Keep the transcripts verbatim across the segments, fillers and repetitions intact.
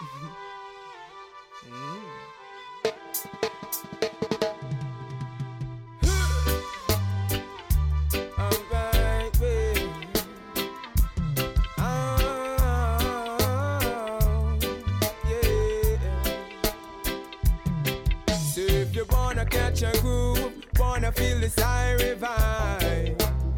Catch a groove, wanna feel the siren vibe.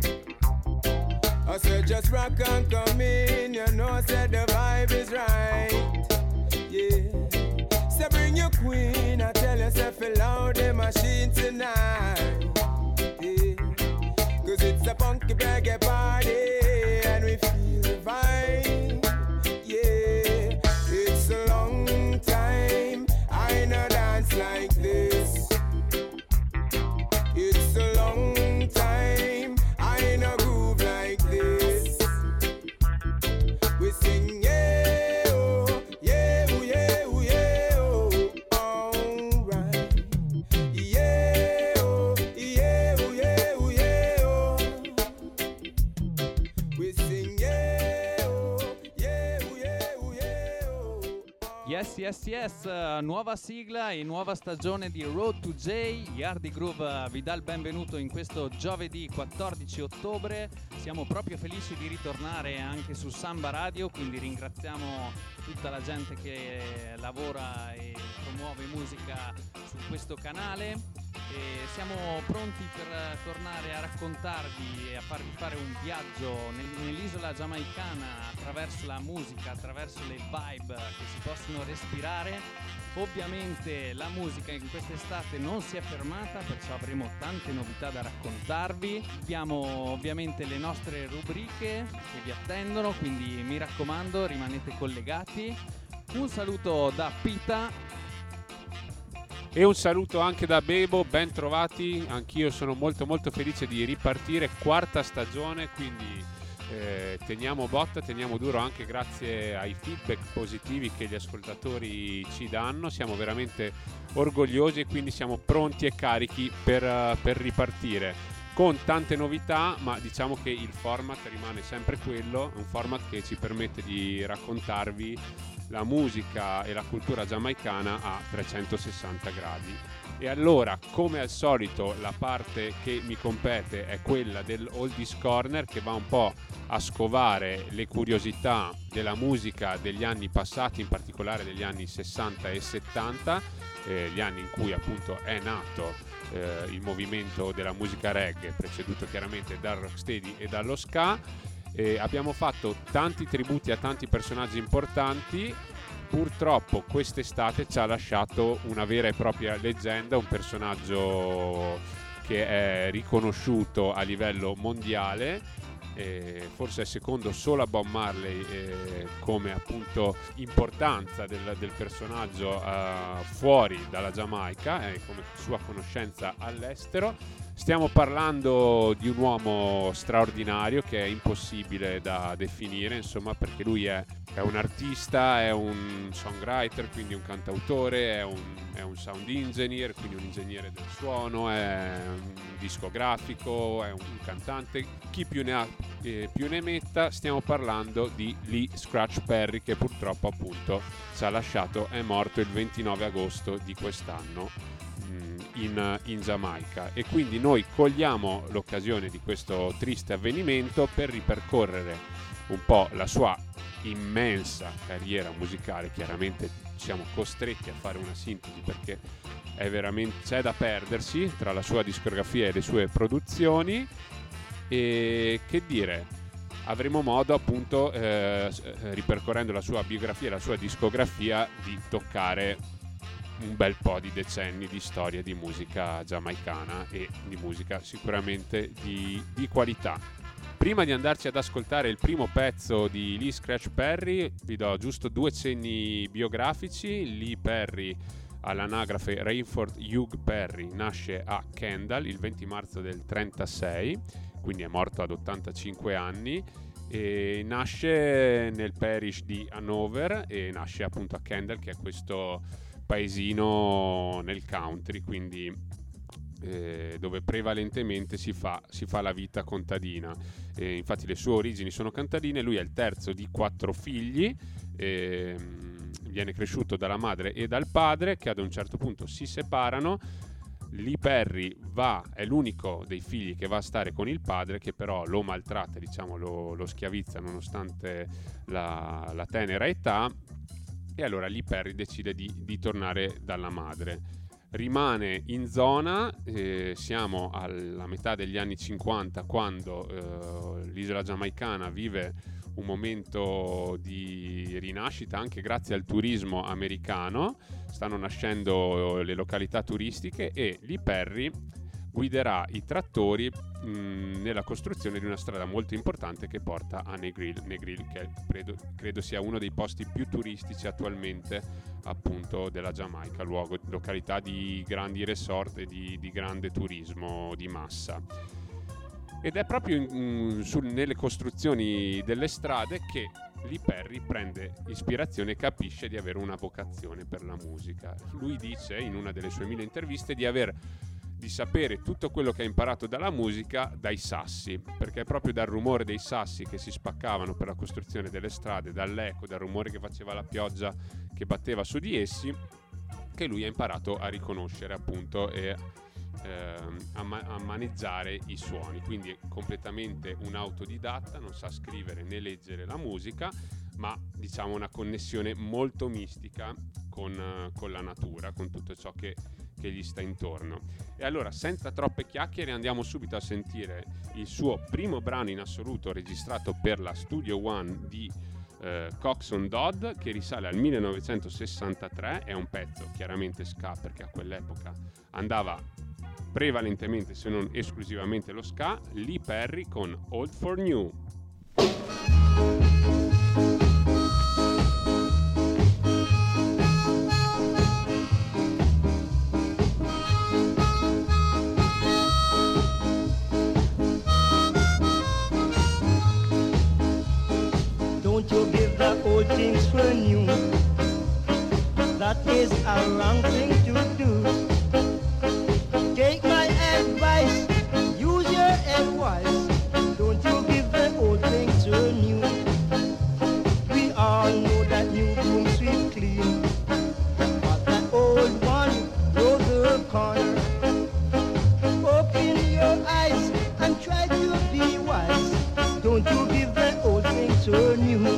I said just rock and come in, you know, said the vibe is right. Yeah, so bring your queen, I tell yourself loud the machine tonight. Yeah, cause it's a funky reggae party and we feel the vibe. Yeah, it's a long time I no dance like this. It's a long time I no groove like this. We sing yeah oh, yeah oh, yeah oh, yeah oh, alright. Yeah oh, yeah oh, yeah oh, yeah oh. We sing yeah oh, yeah oh, yeah oh, yeah oh. Yes, yes, yes, uh, nuova sigla e nuova stagione di Road to J. Yardi Groove vi dà il benvenuto in questo giovedì quattordici ottobre. Siamo proprio felici di ritornare anche su Samba Radio, quindi ringraziamo tutta la gente che lavora e promuove musica su questo canale. E siamo pronti per tornare a raccontarvi e a farvi fare un viaggio nel- nell'isola giamaicana attraverso la musica, attraverso le vibe che si possono respirare. Ovviamente la musica in quest'estate non si è fermata, perciò avremo tante novità da raccontarvi. Abbiamo ovviamente le nostre rubriche che vi attendono, quindi mi raccomando, rimanete collegati. Un saluto da Pita. E un saluto anche da Bebo, ben trovati, anch'io sono molto molto felice di ripartire, quarta stagione, quindi eh, teniamo botta, teniamo duro anche grazie ai feedback positivi che gli ascoltatori ci danno, siamo veramente orgogliosi e quindi siamo pronti e carichi per, uh, per ripartire con tante novità, ma diciamo che il format rimane sempre quello, un format che ci permette di raccontarvi la musica e la cultura giamaicana a trecentosessanta gradi. E allora, come al solito, la parte che mi compete è quella del Oldies Corner, che va un po' a scovare le curiosità della musica degli anni passati, in particolare degli anni sessanta e settanta, eh, gli anni in cui appunto è nato eh, il movimento della musica reggae, preceduto chiaramente dal rocksteady e dallo ska. Eh, abbiamo fatto tanti tributi a tanti personaggi importanti. Purtroppo quest'estate ci ha lasciato una vera e propria leggenda, un personaggio che è riconosciuto a livello mondiale, eh, forse è secondo solo a Bob Marley eh, come appunto importanza del, del personaggio eh, fuori dalla Giamaica e eh, come sua conoscenza all'estero. Stiamo parlando di un uomo straordinario che è impossibile da definire, insomma, perché lui è, è un artista, è un songwriter, quindi un cantautore, è un, è un sound engineer, quindi un ingegnere del suono, è un discografico, è un cantante. Chi più ne ha eh, più ne metta, stiamo parlando di Lee Scratch Perry, che purtroppo appunto ci ha lasciato, è morto il ventinove agosto di quest'anno. In, in Giamaica, e quindi noi cogliamo l'occasione di questo triste avvenimento per ripercorrere un po' la sua immensa carriera musicale. Chiaramente siamo costretti a fare una sintesi perché è veramente, c'è da perdersi tra la sua discografia e le sue produzioni, e che dire, avremo modo appunto eh, ripercorrendo la sua biografia e la sua discografia di toccare un bel po' di decenni di storia di musica giamaicana e di musica sicuramente di, di qualità. Prima di andarci ad ascoltare il primo pezzo di Lee Scratch Perry, vi do giusto due cenni biografici. Lee Perry, all'anagrafe Rayford Hugh Perry, nasce a Kendal il venti marzo del trentasei, quindi è morto ad ottantacinque anni. E nasce nel parish di Hanover e nasce appunto a Kendal, che è questo paesino nel country, quindi eh, dove prevalentemente si fa, si fa la vita contadina. E infatti le sue origini sono contadine. Lui è il terzo di quattro figli, e viene cresciuto dalla madre e dal padre, che ad un certo punto si separano. Lee Perry va, è l'unico dei figli che va a stare con il padre, che però lo maltratta, diciamo, lo, lo schiavizza nonostante la, la tenera età, e allora Lee Perry decide di, di tornare dalla madre. Rimane in zona, eh, siamo alla metà degli anni cinquanta, quando eh, l'isola giamaicana vive un momento di rinascita anche grazie al turismo americano. Stanno nascendo le località turistiche e Lee Perry guiderà i trattori mh, nella costruzione di una strada molto importante che porta a Negril, Negril che credo, credo sia uno dei posti più turistici attualmente, appunto, della Giamaica, luogo, località di grandi resort e di, di grande turismo di massa. Ed è proprio in, su, nelle costruzioni delle strade che Lee Perry prende ispirazione e capisce di avere una vocazione per la musica. Lui dice in una delle sue mille interviste di aver di sapere tutto quello che ha imparato dalla musica dai sassi, perché è proprio dal rumore dei sassi che si spaccavano per la costruzione delle strade, dall'eco, dal rumore che faceva la pioggia che batteva su di essi, che lui ha imparato a riconoscere, appunto, e ehm, a, ma- a maneggiare i suoni. Quindi è completamente un autodidatta, non sa scrivere né leggere la musica, ma diciamo una connessione molto mistica con, con la natura, con tutto ciò che, che gli sta intorno. E allora, senza troppe chiacchiere, andiamo subito a sentire il suo primo brano in assoluto registrato per la Studio One di eh, Coxsone Dodd, che risale al millenovecentosessantatré. È un pezzo chiaramente ska, perché a quell'epoca andava prevalentemente, se non esclusivamente, lo ska. Lee Perry con Old for New. Don't you give the old things for new. That is a wrong thing to do. Take my advice, use your head wise. Don't you give the old things for new. We all know that new broom sweep clean, but that old one roll the corner. Open your eyes and try to be wise. Don't you give the old things for new.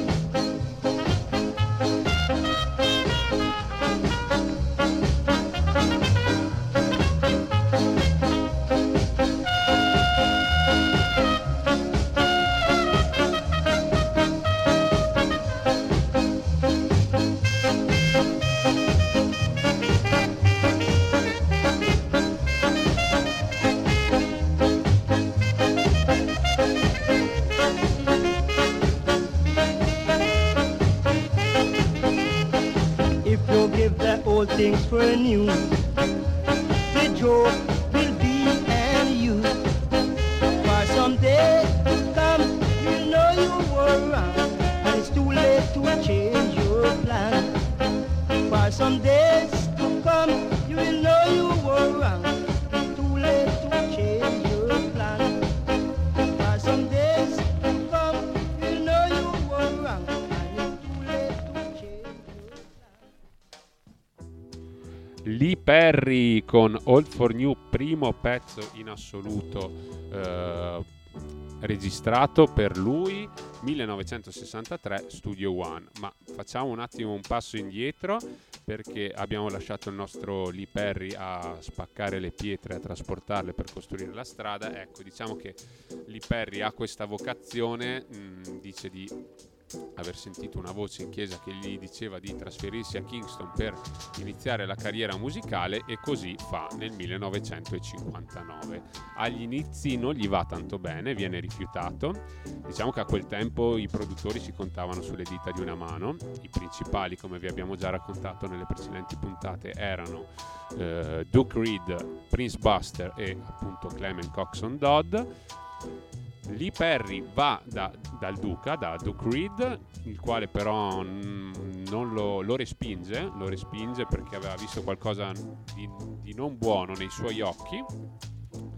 Old things for new. The joke will be and you. For someday to come, you know you were wrong, and it's too late to change your plan. For some days to come, you will know you were wrong. It's too late to change your plan. For some days to come, you know you were wrong, and it's too late to change your plan. Lee Perry con Old for New, primo pezzo in assoluto eh, registrato per lui, millenovecentosessantatré, Studio One. Ma facciamo un attimo un passo indietro, perché abbiamo lasciato il nostro Lee Perry a spaccare le pietre, a trasportarle per costruire la strada. Ecco, diciamo che Lee Perry ha questa vocazione, mh, dice di aver sentito una voce in chiesa che gli diceva di trasferirsi a Kingston per iniziare la carriera musicale, e così fa nel millenovecentocinquantanove. Agli inizi non gli va tanto bene, viene rifiutato. Diciamo che a quel tempo i produttori si contavano sulle dita di una mano. I principali, come vi abbiamo già raccontato nelle precedenti puntate, erano eh, Duke Reed, Prince Buster e appunto Clement Coxsone Dodd. Lee Perry va da, dal Duca, da Duke Reed, il quale però n- non lo, lo respinge, lo respinge perché aveva visto qualcosa di, di non buono nei suoi occhi,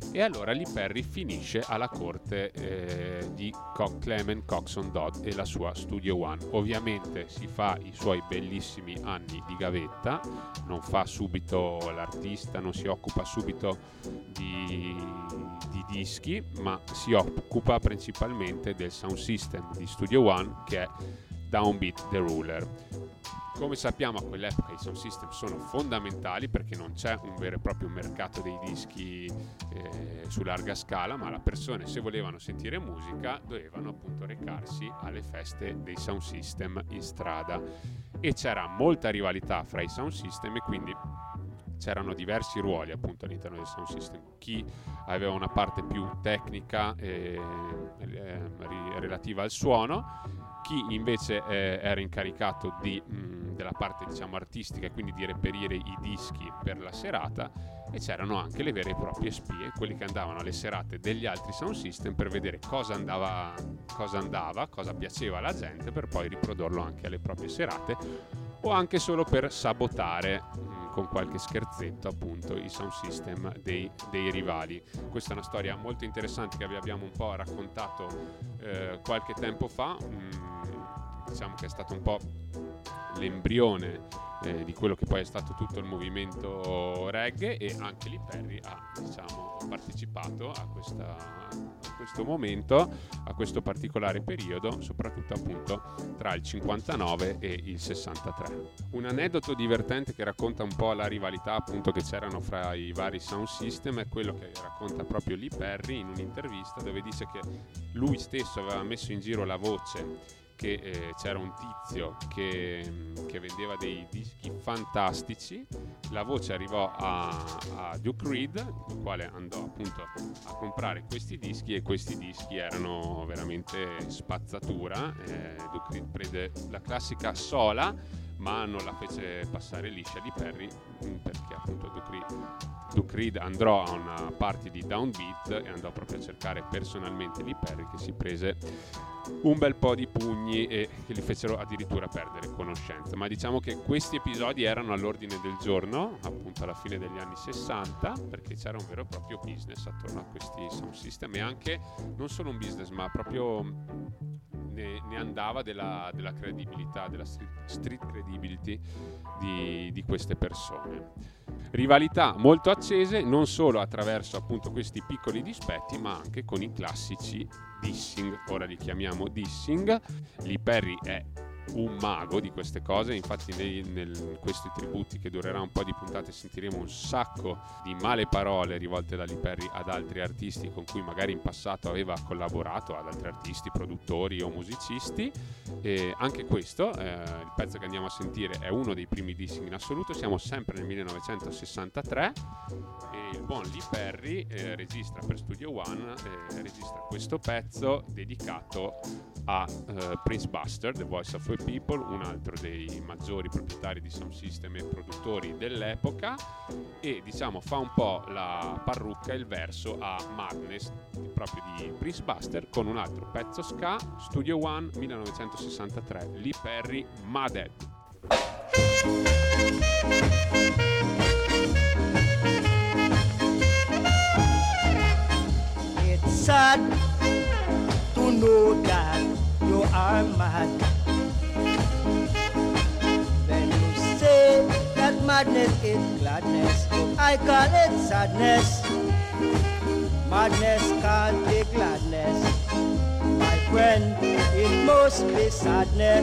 e allora Lee Perry finisce alla corte eh, di Co- Clement Coxsone Dodd e la sua Studio One. Ovviamente si fa i suoi bellissimi anni di gavetta, non fa subito l'artista, non si occupa subito di, di dischi, ma si occupa principalmente del sound system di Studio One, che è Downbeat the Ruler. Come sappiamo, a quell'epoca i sound system sono fondamentali perché non c'è un vero e proprio mercato dei dischi eh, su larga scala, ma le persone, se volevano sentire musica, dovevano appunto recarsi alle feste dei sound system in strada, e c'era molta rivalità fra i sound system e quindi c'erano diversi ruoli appunto all'interno del sound system. Chi aveva una parte più tecnica eh, eh, relativa al suono, chi invece eh, era incaricato di, mh, della parte diciamo artistica e quindi di reperire i dischi per la serata, e c'erano anche le vere e proprie spie, quelli che andavano alle serate degli altri sound system per vedere cosa andava, cosa andava, cosa piaceva alla gente, per poi riprodurlo anche alle proprie serate, o anche solo per sabotare mh, con qualche scherzetto appunto i sound system dei, dei rivali. Questa è una storia molto interessante che vi abbiamo un po' raccontato eh, qualche tempo fa. mh, diciamo che è stato un po' l'embrione eh, di quello che poi è stato tutto il movimento reggae, e anche Lee Perry ha diciamo partecipato a, questa, a questo momento, a questo particolare periodo, soprattutto appunto tra il cinquantanove e il sessantatré. Un aneddoto divertente che racconta un po' la rivalità appunto che c'erano fra i vari sound system è quello che racconta proprio Lee Perry in un'intervista, dove dice che lui stesso aveva messo in giro la voce che eh, c'era un tizio che, che vendeva dei dischi fantastici. La voce arrivò a, a Duke Reed, il quale andò appunto a comprare questi dischi, e questi dischi erano veramente spazzatura. eh, Duke Reed prese la classica sola, ma non la fece passare liscia di Perry, perché appunto Duke Reed, Duke Reed andò a una party di Downbeat e andò proprio a cercare personalmente Lee Perry, che si prese un bel po' di pugni e che gli fecero addirittura perdere conoscenza. Ma diciamo che questi episodi erano all'ordine del giorno appunto alla fine degli anni sessanta, perché c'era un vero e proprio business attorno a questi sound system, e anche non solo un business, ma proprio ne, ne andava della, della credibilità, della street, street credibility di, di queste persone. Rivalità molto accese, non solo attraverso appunto questi piccoli dispetti, ma anche con i classici dissing. Ora li chiamiamo dissing. Lee Perry è un mago di queste cose, infatti nei, nel, questi tributi che durerà un po' di puntate sentiremo un sacco di male parole rivolte da Lee Perry ad altri artisti con cui magari in passato aveva collaborato, ad altri artisti, produttori o musicisti. E anche questo, eh, il pezzo che andiamo a sentire è uno dei primi dissing in assoluto. Siamo sempre nel millenovecentosessantatré e il buon Lee Perry eh, registra per Studio One, eh, registra questo pezzo dedicato a eh, Prince Buster, The Voice of the People, un altro dei maggiori proprietari di sound system e produttori dell'epoca, e diciamo fa un po' la parrucca, il verso a Madness proprio di Prince Buster, con un altro pezzo ska, Studio One millenovecentosessantatré, Lee Perry, Madhead. It's sad to know that you are mad. When you say that madness is gladness, I call it sadness. Madness can't be gladness, my friend, it must be sadness.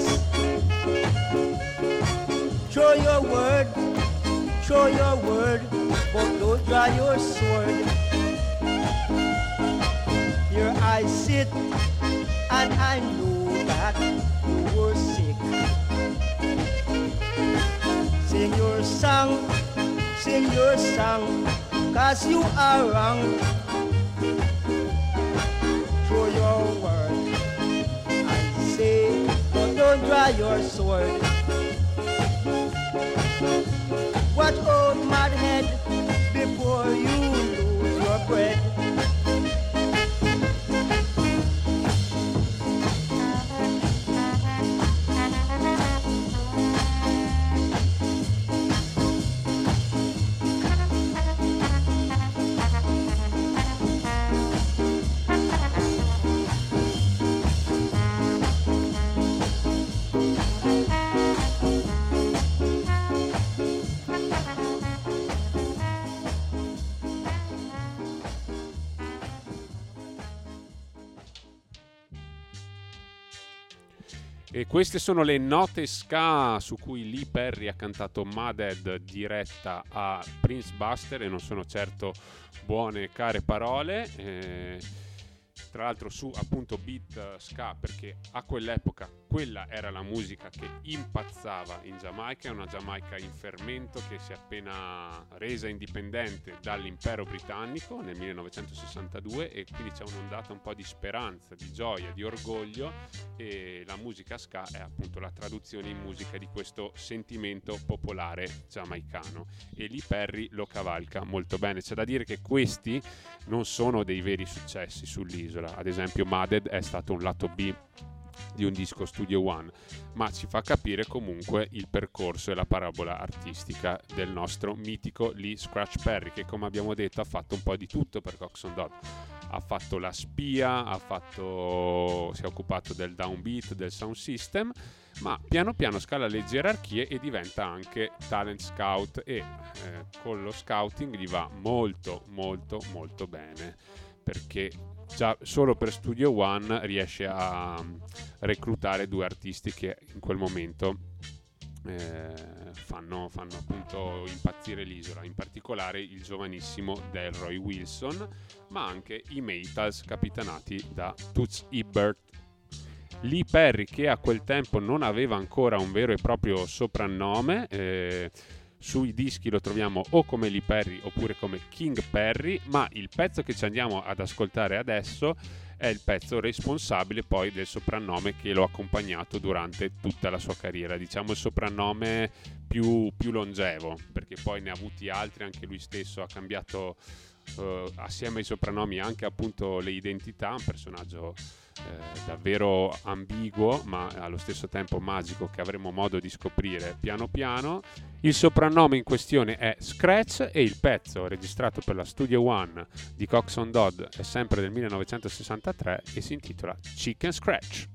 Show your word, show your word, but don't draw your sword. Here I sit and I know that you were sick. Sing your song, sing your song, cause you are wrong. Show your word, I say, but don't draw your sword. Watch out, madhead, before you lose your bread. E queste sono le note ska su cui Lee Perry ha cantato Madhead diretta a Prince Buster, e non sono certo buone e care parole. Eh, tra l'altro su appunto beat ska, perché a quell'epoca quella era la musica che impazzava in Giamaica, è una Giamaica in fermento che si è appena resa indipendente dall'impero britannico nel millenovecentosessantadue, e quindi c'è un'ondata un po' di speranza, di gioia, di orgoglio, e la musica ska è appunto la traduzione in musica di questo sentimento popolare giamaicano, e Lee Perry lo cavalca molto bene. C'è da dire che questi non sono dei veri successi sull'isola, ad esempio Madhead è stato un lato B di un disco Studio One, ma ci fa capire comunque il percorso e la parabola artistica del nostro mitico Lee Scratch Perry, che come abbiamo detto ha fatto un po' di tutto per Coxsone Dodd. Ha fatto la spia, ha fatto, si è occupato del downbeat, del sound system, ma piano piano scala le gerarchie e diventa anche talent scout, e eh, con lo scouting gli va molto molto molto bene, perché già solo per Studio One riesce a reclutare due artisti che in quel momento eh, fanno, fanno appunto impazzire l'isola, in particolare il giovanissimo Delroy Wilson, ma anche i Maytals capitanati da Toots Hibbert. Lee Perry, che a quel tempo non aveva ancora un vero e proprio soprannome, eh, sui dischi lo troviamo o come Lee Perry oppure come King Perry, ma il pezzo che ci andiamo ad ascoltare adesso è il pezzo responsabile poi del soprannome che lo ha accompagnato durante tutta la sua carriera, diciamo il soprannome più, più longevo, perché poi ne ha avuti altri, anche lui stesso ha cambiato uh, assieme ai soprannomi anche appunto le identità, un personaggio Eh, davvero ambiguo ma allo stesso tempo magico, che avremo modo di scoprire piano piano. Il soprannome in questione è Scratch, e il pezzo registrato per la Studio One di Coxsone Dodd è sempre del millenovecentosessantatré e si intitola Chicken Scratch.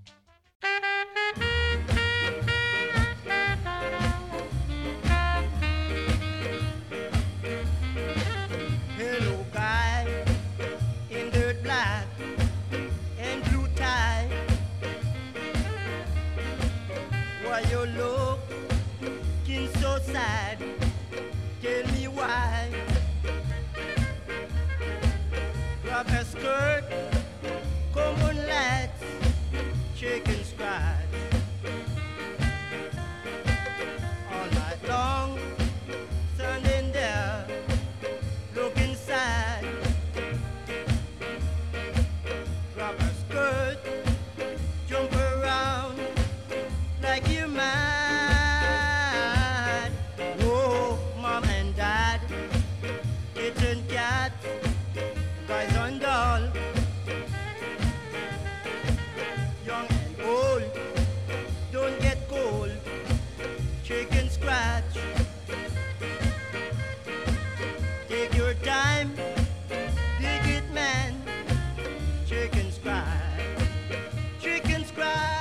Hello, guy in dirt black and blue tie. Why you looking so sad? Tell me why. Grab a skirt, come on, let's shake and scratch. All night long, standing there, looking sad. Grab a skirt, jump around like you're mad. Whoa, mom and dad, kitchen cat, guys on doll, young and old, don't get cold, chicken scratch. Take your time, dig it, man. Chicken scratch, chicken scratch.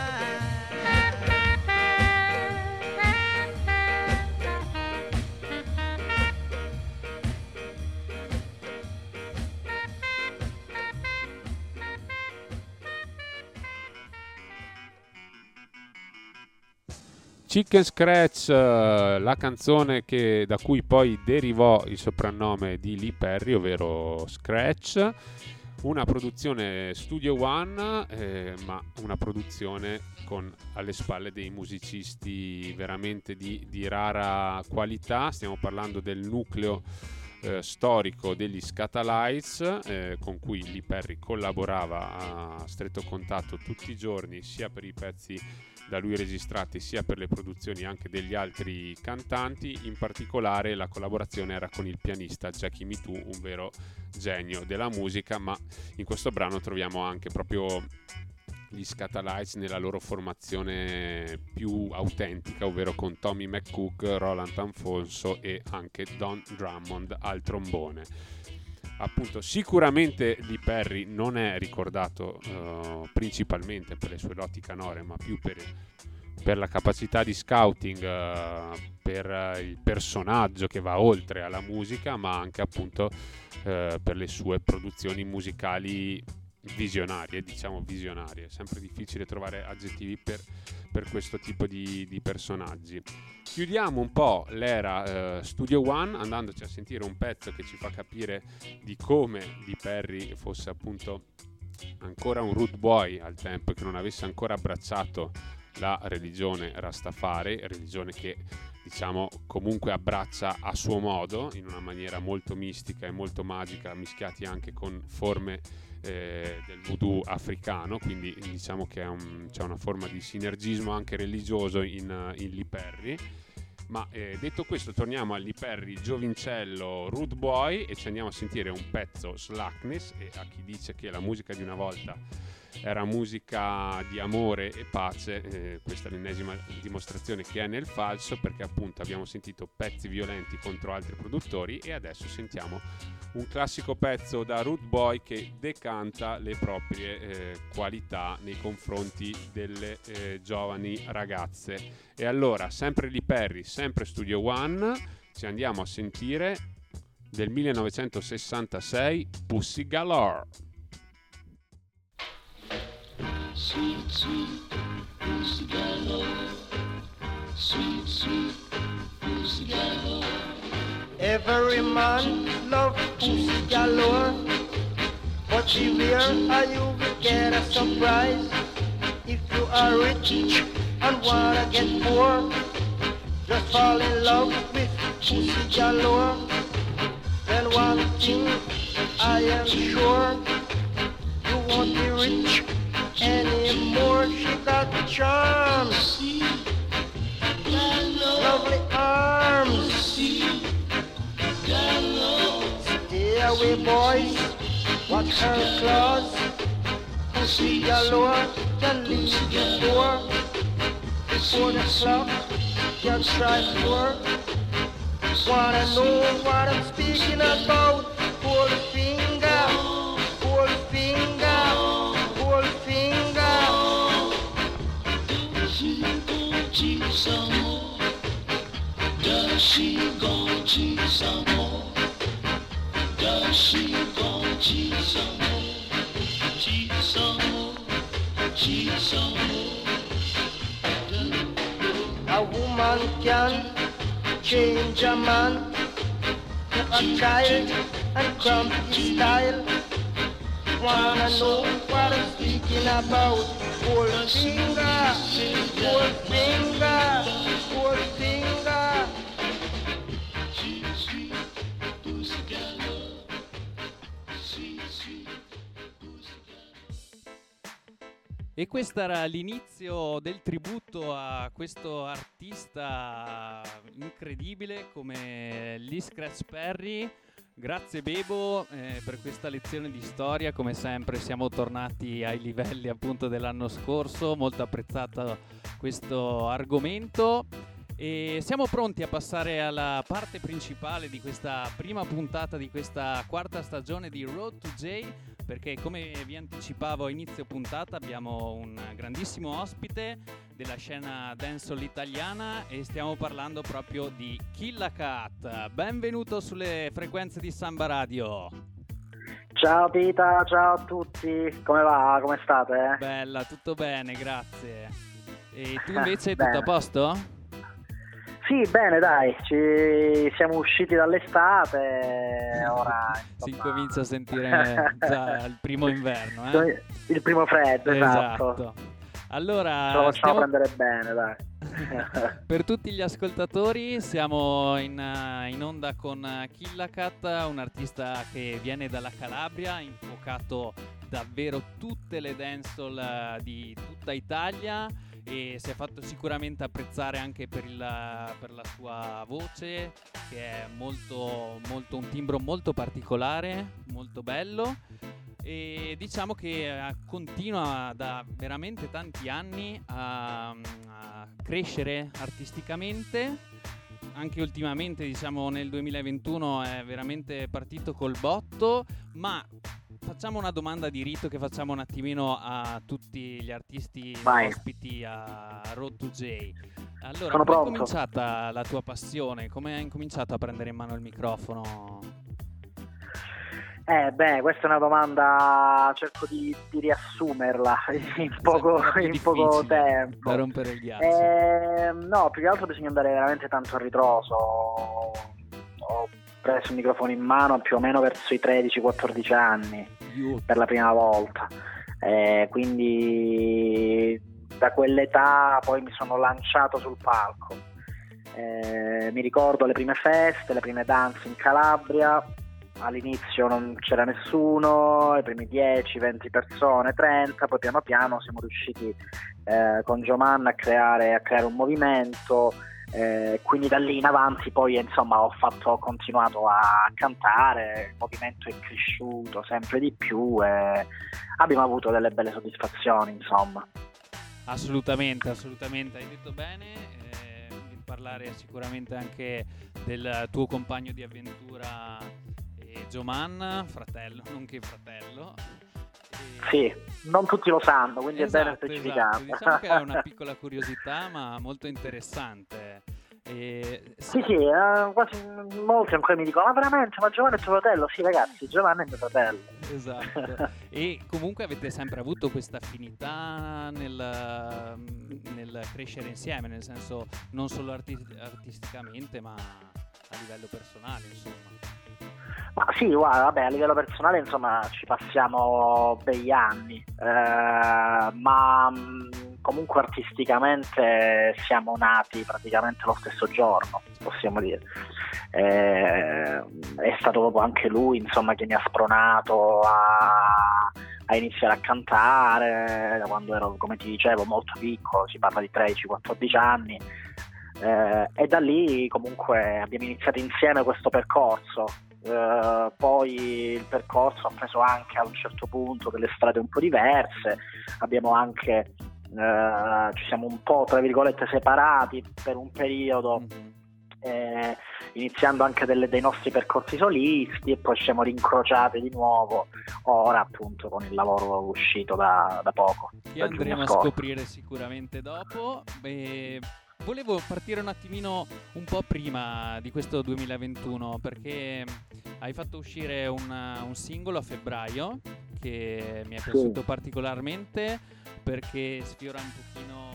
Chicken Scratch, eh, la canzone che, da cui poi derivò il soprannome di Lee Perry, ovvero Scratch, una produzione Studio One, eh, ma una produzione con alle spalle dei musicisti veramente di, di rara qualità. Stiamo parlando del nucleo eh, storico degli Scatalites, eh, con cui Lee Perry collaborava a stretto contatto tutti i giorni, sia per i pezzi da lui registrati sia per le produzioni anche degli altri cantanti. In particolare la collaborazione era con il pianista Jackie Mitou, un vero genio della musica, ma in questo brano troviamo anche proprio gli Scatalites nella loro formazione più autentica, ovvero con Tommy McCook, Roland Anfonso e anche Don Drummond al trombone. Appunto, sicuramente Lee Perry non è ricordato uh, principalmente per le sue doti canore, ma più per, per la capacità di scouting, uh, per uh, il personaggio che va oltre alla musica, ma anche appunto uh, per le sue produzioni musicali visionarie, diciamo visionarie. È sempre difficile trovare aggettivi per, per questo tipo di, di personaggi. Chiudiamo un po' l'era eh, Studio One andandoci a sentire un pezzo che ci fa capire di come Lee Perry fosse appunto ancora un rude boy al tempo, che non avesse ancora abbracciato la religione Rastafari, religione che diciamo comunque abbraccia a suo modo, in una maniera molto mistica e molto magica, mischiati anche con forme eh, del voodoo africano, quindi diciamo che è un, c'è una forma di sinergismo anche religioso in, in Lee Perry. Ma eh, detto questo, torniamo a Lee Perry giovincello rude boy e ci andiamo a sentire un pezzo Slackness. E a chi dice che la musica di una volta era musica di amore e pace, eh, questa è l'ennesima dimostrazione che è nel falso, perché appunto abbiamo sentito pezzi violenti contro altri produttori e adesso sentiamo un classico pezzo da rude boy che decanta le proprie eh, qualità nei confronti delle eh, giovani ragazze. E allora, sempre Lee Perry, sempre Studio One, ci andiamo a sentire del millenovecentosessantasei Pussy Galore. Sweet, sweet Pussy Galore, sweet, sweet Pussy Galore. Every man love pussy galore, but beware or you will get a surprise. If you are rich and wanna get poor, just fall in love with pussy galore. Then one thing I am sure, you won't be rich anymore. She got the charms, lovely arms. Stay away, boys, watch her claws. Pussy galore can leave you poor. Before the clock can strike four. Wanna know what I'm speaking about? Pull finger, pull finger, pull finger. Does she gon' cheat some more? Does she gon' cheat some more? Does she gon' cheat some more? Cheat some more, cheat some more. A woman can change a man to a child and come his style. Wanna know what I'm speaking about? Pull finger, pull finger, pull finger. Sweet, sweet Pussy Galore, sweet, sweet Pussy Galore. E questo era l'inizio del tributo a questo artista incredibile come Lee Scratch Perry. Grazie Bebo eh, per questa lezione di storia, come sempre siamo tornati ai livelli appunto dell'anno scorso, molto apprezzato questo argomento e siamo pronti a passare alla parte principale di questa prima puntata di questa quarta stagione di Road to J, perché come vi anticipavo a inizio puntata abbiamo un grandissimo ospite della scena dancehall italiana e stiamo parlando proprio di Killa Cat. Benvenuto sulle frequenze di Samba Radio. Ciao Pita, ciao a tutti, come va? Come state? Bella, tutto bene, grazie. E tu invece tutto a posto? Sì, bene, dai, ci siamo usciti dall'estate, ora insomma... si incomincia a sentire già il primo inverno, eh? Il primo freddo, esatto. Esatto. Allora, ce lo facciamo stiamo... prendere bene, dai. Per tutti gli ascoltatori siamo in, in onda con Killa Cat, un artista che viene dalla Calabria, ha infuocato davvero tutte le dancehall di tutta Italia e si è fatto sicuramente apprezzare anche per, il, per la sua voce, che è molto, molto un timbro molto particolare, molto bello. E diciamo che continua da veramente tanti anni a, a crescere artisticamente. Anche ultimamente, diciamo nel duemilaventuno, è veramente partito col botto. Ma facciamo una domanda di rito che facciamo un attimino a tutti gli artisti Vai. ospiti a Road to J. Allora, Sono come è pronto. cominciata la tua passione? Come hai incominciato a prendere in mano il microfono? Eh beh, questa è una domanda, cerco di, di riassumerla in poco, in poco tempo. Da rompere il ghiaccio. Eh, no, più che altro bisogna andare veramente tanto a ritroso. Ho preso il microfono in mano più o meno verso i tredici quattordici anni Io. per la prima volta. Eh, quindi da quell'età poi mi sono lanciato sul palco. Eh, mi ricordo le prime feste, le prime danze in Calabria. All'inizio non c'era nessuno, i primi dieci venti persone, trenta, poi piano piano siamo riusciti eh, con Gioman a creare, a creare un movimento, eh, quindi da lì in avanti poi insomma ho, fatto, ho continuato a cantare, il movimento è cresciuto sempre di più e abbiamo avuto delle belle soddisfazioni, insomma. Assolutamente, assolutamente, hai detto bene, eh, di parlare sicuramente anche del tuo compagno di avventura Gioman, fratello, nonché fratello. E... Sì, non tutti lo sanno, quindi esatto, è bene specificato. Esatto. Diciamo che è una piccola curiosità, ma molto interessante. E... Sì, sì, eh, quasi molti ancora mi dicono: ma veramente, ma Giovanni è tuo fratello? Sì, ragazzi, Giovanni è mio fratello. Esatto. E comunque avete sempre avuto questa affinità nel, nel crescere insieme, nel senso non solo arti- artisticamente, ma a livello personale, insomma. Ma sì, guarda, vabbè, a livello personale insomma ci passiamo begli anni, eh, ma mh, comunque artisticamente siamo nati praticamente lo stesso giorno, possiamo dire. Eh, è stato proprio anche lui insomma che mi ha spronato a, a iniziare a cantare da quando ero, come ti dicevo, molto piccolo, si parla di tredici quattordici anni. Eh, e da lì comunque abbiamo iniziato insieme questo percorso. Uh, poi il percorso ha preso anche a un certo punto delle strade un po' diverse, abbiamo anche uh, ci siamo un po' tra virgolette separati per un periodo, eh, iniziando anche delle, dei nostri percorsi solisti, e poi ci siamo rincrociati di nuovo ora appunto con il lavoro uscito da, da poco, che da andremo a scorso. scoprire sicuramente dopo. E volevo partire un attimino un po' prima di questo duemilaventuno, perché hai fatto uscire un, un singolo a febbraio che mi è piaciuto sì. particolarmente, perché sfiora un pochino,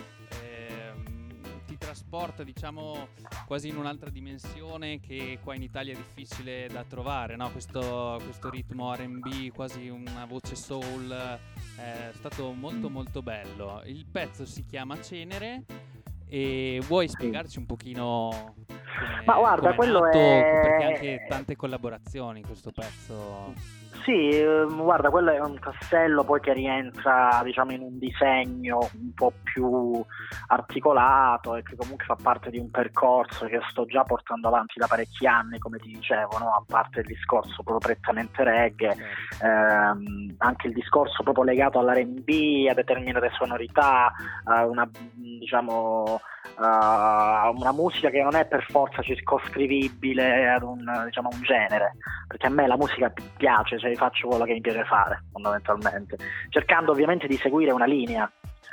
ehm, ti trasporta diciamo quasi in un'altra dimensione che qua in Italia è difficile da trovare, no? Questo, questo ritmo R and B, quasi una voce soul, è stato molto molto bello. Il pezzo si chiama Cenere. E vuoi spiegarci un pochino come, Ma guarda, come quello è nato, è... perché anche tante collaborazioni questo pezzo. Sì, ehm, guarda, quello è un tassello poi che rientra diciamo in un disegno un po' più articolato e che comunque fa parte di un percorso che sto già portando avanti da parecchi anni, come ti dicevo, no? A parte il discorso proprio prettamente reggae, Certo. ehm, anche il discorso proprio legato all'R and B, a determinate sonorità, a una diciamo a una musica che non è per forza circoscrivibile ad un diciamo un genere, perché a me la musica piace, cioè faccio quello che mi piace fare fondamentalmente, cercando ovviamente di seguire una linea.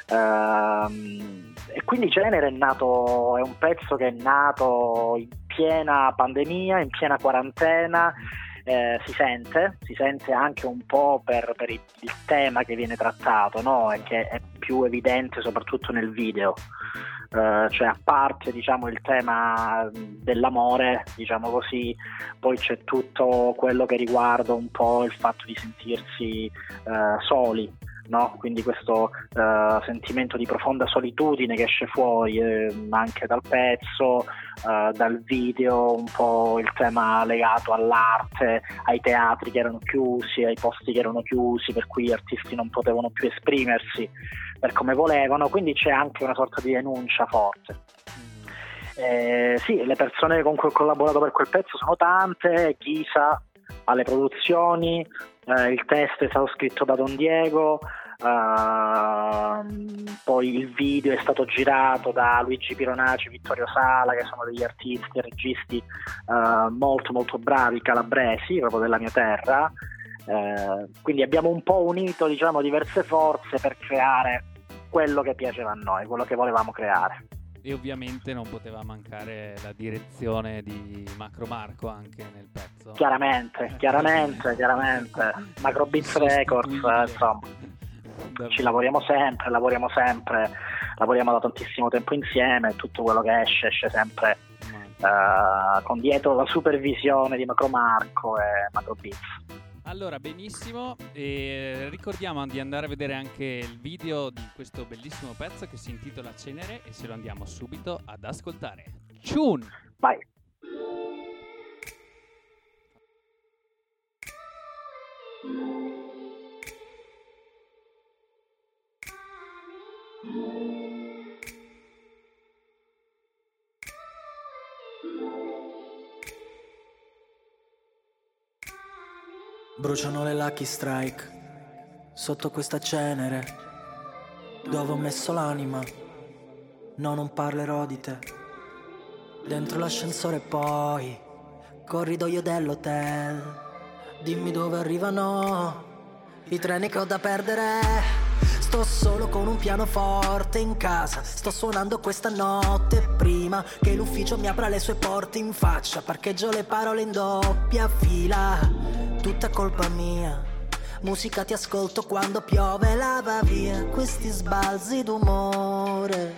Uh, e quindi Cenere è nato, è un pezzo che è nato in piena pandemia, in piena quarantena. Eh, si sente, si sente anche un po' per, per il, il tema che viene trattato, no? E che è più evidente soprattutto nel video. Uh, cioè a parte diciamo il tema dell'amore, diciamo così, poi c'è tutto quello che riguarda un po' il fatto di sentirsi uh, soli, no? Quindi questo uh, sentimento di profonda solitudine che esce fuori eh, anche dal pezzo, uh, dal video, un po' il tema legato all'arte, ai teatri che erano chiusi, ai posti che erano chiusi, per cui gli artisti non potevano più esprimersi per come volevano, quindi c'è anche una sorta di denuncia forte. Eh, sì, le persone con cui ho collaborato per quel pezzo sono tante, Ghisa alle produzioni, eh, il testo è stato scritto da Don Diego, uh, poi il video è stato girato da Luigi Pironaci, Vittorio Sala, che sono degli artisti e registi uh, molto molto bravi, calabresi, proprio della mia terra. Uh, quindi abbiamo un po' unito diciamo diverse forze per creare quello che piaceva a noi, quello che volevamo creare. E ovviamente non poteva mancare la direzione di Macro Marco anche nel pezzo. Chiaramente, chiaramente, chiaramente. Macro Beats Records, eh, insomma, ci lavoriamo sempre, lavoriamo sempre, lavoriamo da tantissimo tempo insieme, tutto quello che esce esce sempre uh, con dietro la supervisione di Macro Marco e Macro Beats. Allora, benissimo, e ricordiamo di andare a vedere anche il video di questo bellissimo pezzo che si intitola Cenere e ce lo andiamo subito ad ascoltare. Ciun! Vai! Bruciano le Lucky Strike sotto questa cenere dove ho messo l'anima. No, non parlerò di te. Dentro l'ascensore poi corridoio dell'hotel. Dimmi dove arrivano i treni che ho da perdere. Sto solo con un pianoforte in casa. Sto suonando questa notte prima che l'ufficio mi apra le sue porte in faccia. Parcheggio le parole in doppia fila. Tutta colpa mia. Musica ti ascolto quando piove, lava via questi sbalzi d'umore.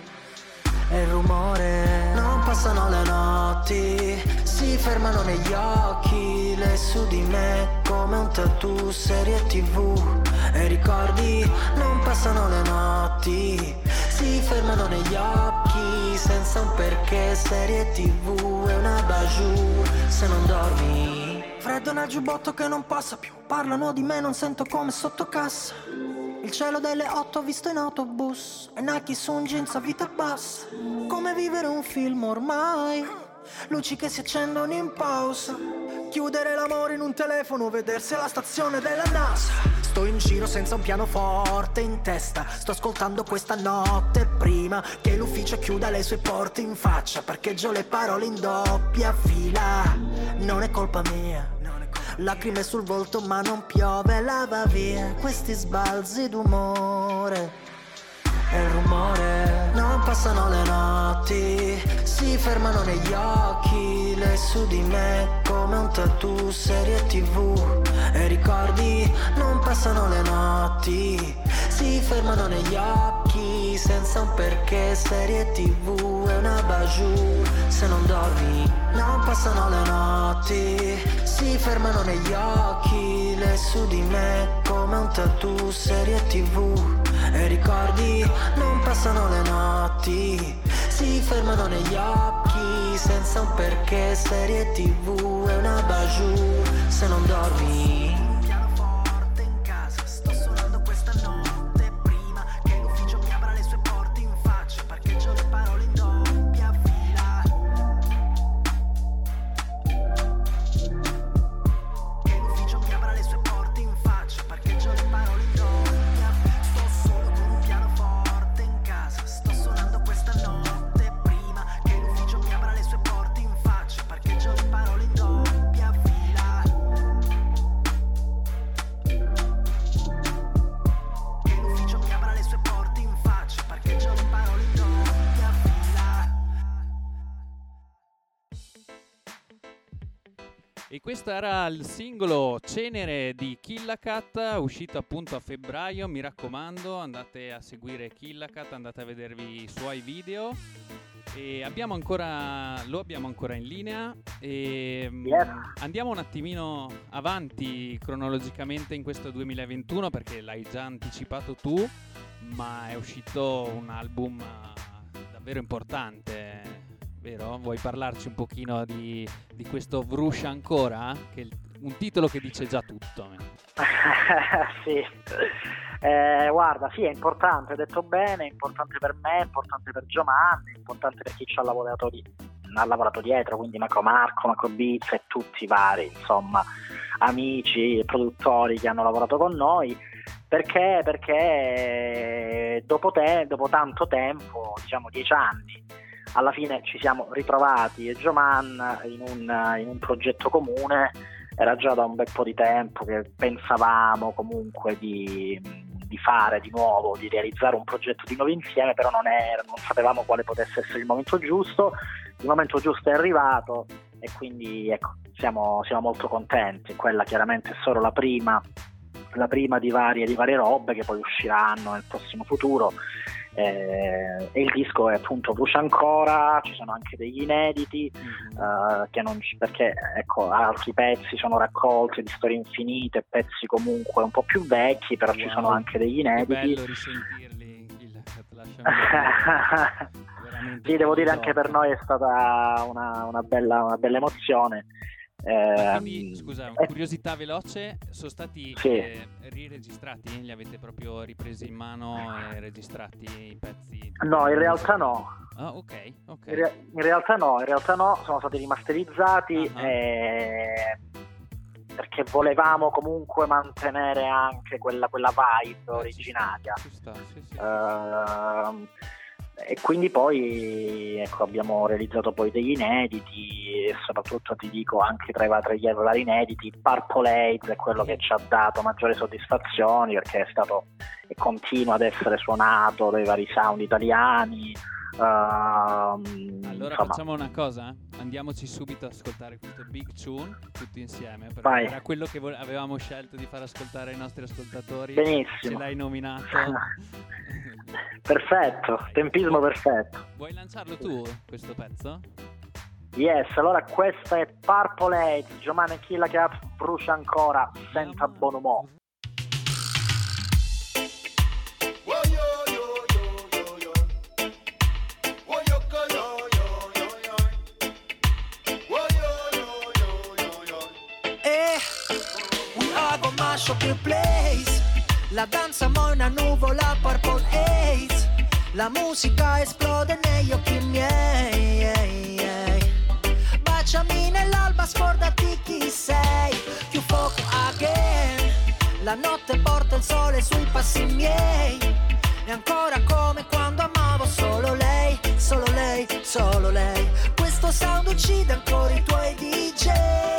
E il rumore. Non passano le notti, si fermano negli occhi. Le su di me come un tattoo, serie tv. E ricordi, non passano le notti, si fermano negli occhi senza un perché, serie tv è una bajou. Se non dormi, freddo nel giubbotto che non passa più. Parlano di me, non sento come sotto cassa. Il cielo delle otto visto in autobus e Nike su un jeans a vita bassa. Come vivere un film ormai, luci che si accendono in pausa. Chiudere l'amore in un telefono, vedersi alla stazione della NASA. Sto in giro senza un pianoforte in testa. Sto ascoltando questa notte prima che l'ufficio chiuda le sue porte in faccia. Parcheggio le parole in doppia fila. Non è colpa mia. Lacrime sul volto ma non piove, lava via questi sbalzi d'umore. E il rumore. Non passano le notti, si fermano negli occhi. Le su di me come un tattoo, serie tv. E ricordi, non passano le notti, si fermano negli occhi senza un perché, serie tv è una bajou. Se non dormi, non passano le notti, si fermano negli occhi. Le su di me come un tattoo, serie tv. E ricordi, non passano le notti, si fermano negli occhi senza un perché, serie tv è una bajou. Se non dormi, pianoforte in casa, sto suonando questa notte prima che l'ufficio mi apra le sue porte in faccia. Parcheggio le parole in doppia fila. Che l'ufficio mi apra le sue porte in faccia. Parcheggio le parole in doppia fila. Sto solo con un pianoforte in casa. Sto suonando questa notte prima che l'ufficio mi apra le sue porte in faccia. Parcheggio le parole in doppia fila. Che l'ufficio mi apra le sue porte in faccia. Parcheggio le parole in doppia fila. E questo era il singolo Cenere di Killacat, uscito appunto a febbraio. Mi raccomando, andate a seguire Killacat, andate a vedervi i suoi video. E abbiamo ancora, lo abbiamo ancora in linea. E mm, Yes. andiamo un attimino avanti cronologicamente in questo duemilaventuno, perché l'hai già anticipato tu, ma è uscito un album eh, davvero importante, vero? Vuoi parlarci un pochino di, di questo Vruscia ancora? Che è il- un titolo che dice già tutto. Sì, eh, guarda, sì, è importante, hai detto bene, è importante per me, è importante per Giovanni, è importante per chi ci ha lavorato, di, ha lavorato dietro, quindi Macro Marco, Macro Beats e tutti i vari, insomma, amici e produttori che hanno lavorato con noi. Perché? Perché dopo, te, dopo tanto tempo, diciamo dieci anni, alla fine ci siamo ritrovati e Gioman in un, in un progetto comune. Era già da un bel po' di tempo che pensavamo comunque di, di fare di nuovo, di realizzare un progetto di nuovo insieme, però non, è, non sapevamo quale potesse essere il momento giusto. Il momento giusto è arrivato e quindi ecco, siamo, siamo molto contenti. Quella chiaramente è solo la prima, la prima di varie, di varie robe che poi usciranno nel prossimo futuro. Eh, e il disco è appunto Brucia ancora, ci sono anche degli inediti, uh, che non ci, perché ecco, altri pezzi sono raccolti di storie infinite, pezzi comunque un po' più vecchi, però wow, ci sono anche degli inediti. È bello risentirli, il, sì, devo dire anche per noi è stata una, una, bella, una bella emozione. Eh, quindi, scusa, una curiosità veloce, sono stati sì. eh, riregistrati? Li avete proprio ripresi in mano e registrati i pezzi? No, in realtà no. Ah, ok, ok. In, re- in realtà no, in realtà no, sono stati rimasterizzati uh-huh. eh, perché volevamo comunque mantenere anche quella, quella vibe eh, originaria. Ci sta, ci sta, sì, sì. Uh, e quindi poi ecco, abbiamo realizzato poi degli inediti e soprattutto ti dico anche tra i, tra i vari inediti Purple Haze è quello che ci ha dato maggiori soddisfazioni, perché è stato e continua ad essere suonato dai vari sound italiani. Uh, allora insomma. Facciamo una cosa, andiamoci subito ad ascoltare questo Big Tune tutti insieme, perché Vai. Era quello che vo- avevamo scelto di far ascoltare ai nostri ascoltatori. Benissimo. Ce l'hai nominato. Perfetto, tempismo perfetto. Vuoi lanciarlo tu questo pezzo? Yes, allora questa è Purple Haze, Giovanni Killa Cat, Brucia ancora, senza buon umore. Mash up your place. La danza mo' una nuvola Purple Haze. La musica esplode negli occhi miei. Baciami nell'alba, scordati chi sei. Più fuoco again. La notte porta il sole sui passi miei. E ancora come quando amavo solo lei, solo lei, solo lei. Questo sound uccide ancora i tuoi D J.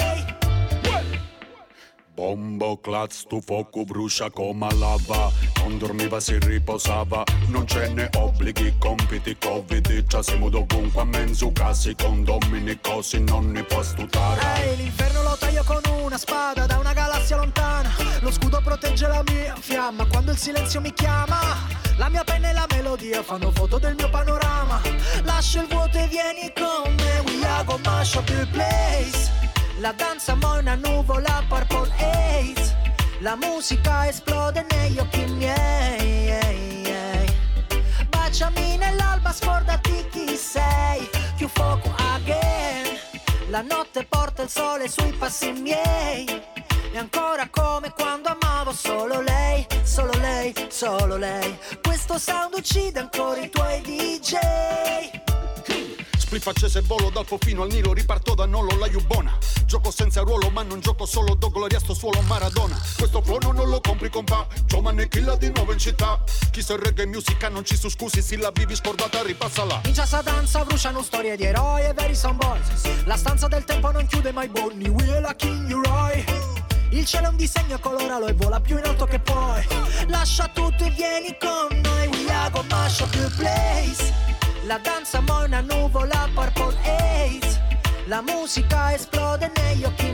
Bombo clat, sto fuoco brucia come lava. Non dormiva, si riposava. Non ce ne obblighi, compiti, covid. Già siamo dovunque a mezzo casi. Condomini, cosi, non ne può stutare. Ehi, hey, l'inferno lo taglio con una spada da una galassia lontana. Lo scudo protegge la mia fiamma quando il silenzio mi chiama. La mia penna e la melodia fanno foto del mio panorama. Lascia il vuoto e vieni con me. We are gonna mash up your place. La danza mo' una nuvola Purple Haze. La musica esplode negli occhi miei. Baciami nell'alba, scordati chi sei. Più fuoco again. La notte porta il sole sui passi miei. E ancora come quando amavo solo lei, solo lei, solo lei. Questo sound uccide ancora i tuoi D J. Spliff accese e volo dal Fofino al Nilo, riparto da Nolo la Iubona. Gioco senza ruolo ma non gioco solo, do gloria sto suolo Maradona. Questo flow non lo compri compa, Giovanni Killa di nuovo in città. Chi se reggae musica non ci su scusi, se la vivi scordata ripassala. In già sta danza bruciano storie di eroi e veri son boys. La stanza del tempo non chiude mai Bonnie, we la King Roy. Il cielo è un disegno, coloralo e vola più in alto che puoi. Lascia tutto e vieni con noi, we are gonna mash up your place. La danza mo' è una nuvola Purple Haze. La musica esplode negli occhi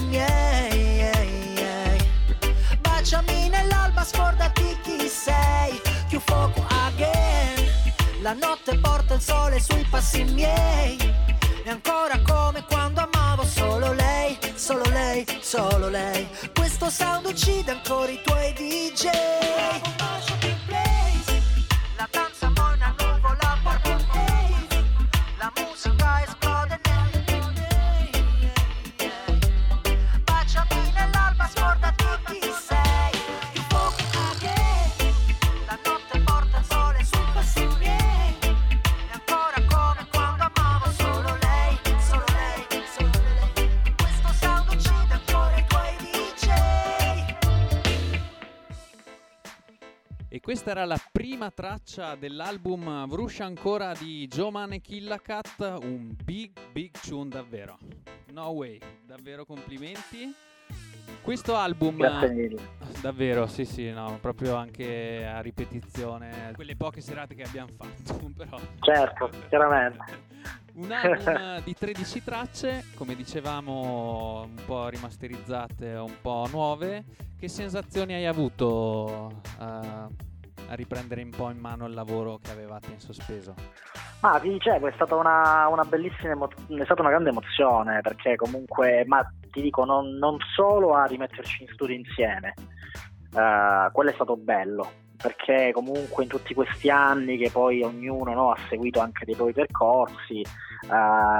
miei. Baciami nell'alba, scordati chi sei. Più fuoco again. La notte porta il sole sui passi miei. E ancora come quando amavo solo lei, solo lei, solo lei. Questo sound uccide ancora i tuoi D J. La danza mo' è una nuvola Purple Haze. La musica esplode negli occhi miei. Baciami nell'alba, scordati chi sei. Più fuoco again. La notte porta il sole sui passi miei. E ancora come quando amavo solo lei, solo lei, solo lei. Questo sound uccide ancora i tuoi D J. E questa era la prima traccia dell'album Vruscia ancora di Joe Killa Cat, un big big tune davvero. No way, davvero complimenti. Questo album, Grazie mille. davvero, sì sì, no, proprio anche a ripetizione, quelle poche serate che abbiamo fatto, però. Certo, chiaramente. Un album di tredici tracce, come dicevamo, un po' rimasterizzate, un po' nuove. Che sensazioni hai avuto uh, a riprendere un po' in mano il lavoro che avevate in sospeso? Ma ti dicevo, è stata una, una bellissima emo- è stata una grande emozione, perché comunque, ma ti dico, non, non solo a rimetterci in studio insieme, uh, quello è stato bello, perché comunque in tutti questi anni che poi ognuno, no, ha seguito anche dei propri percorsi, uh,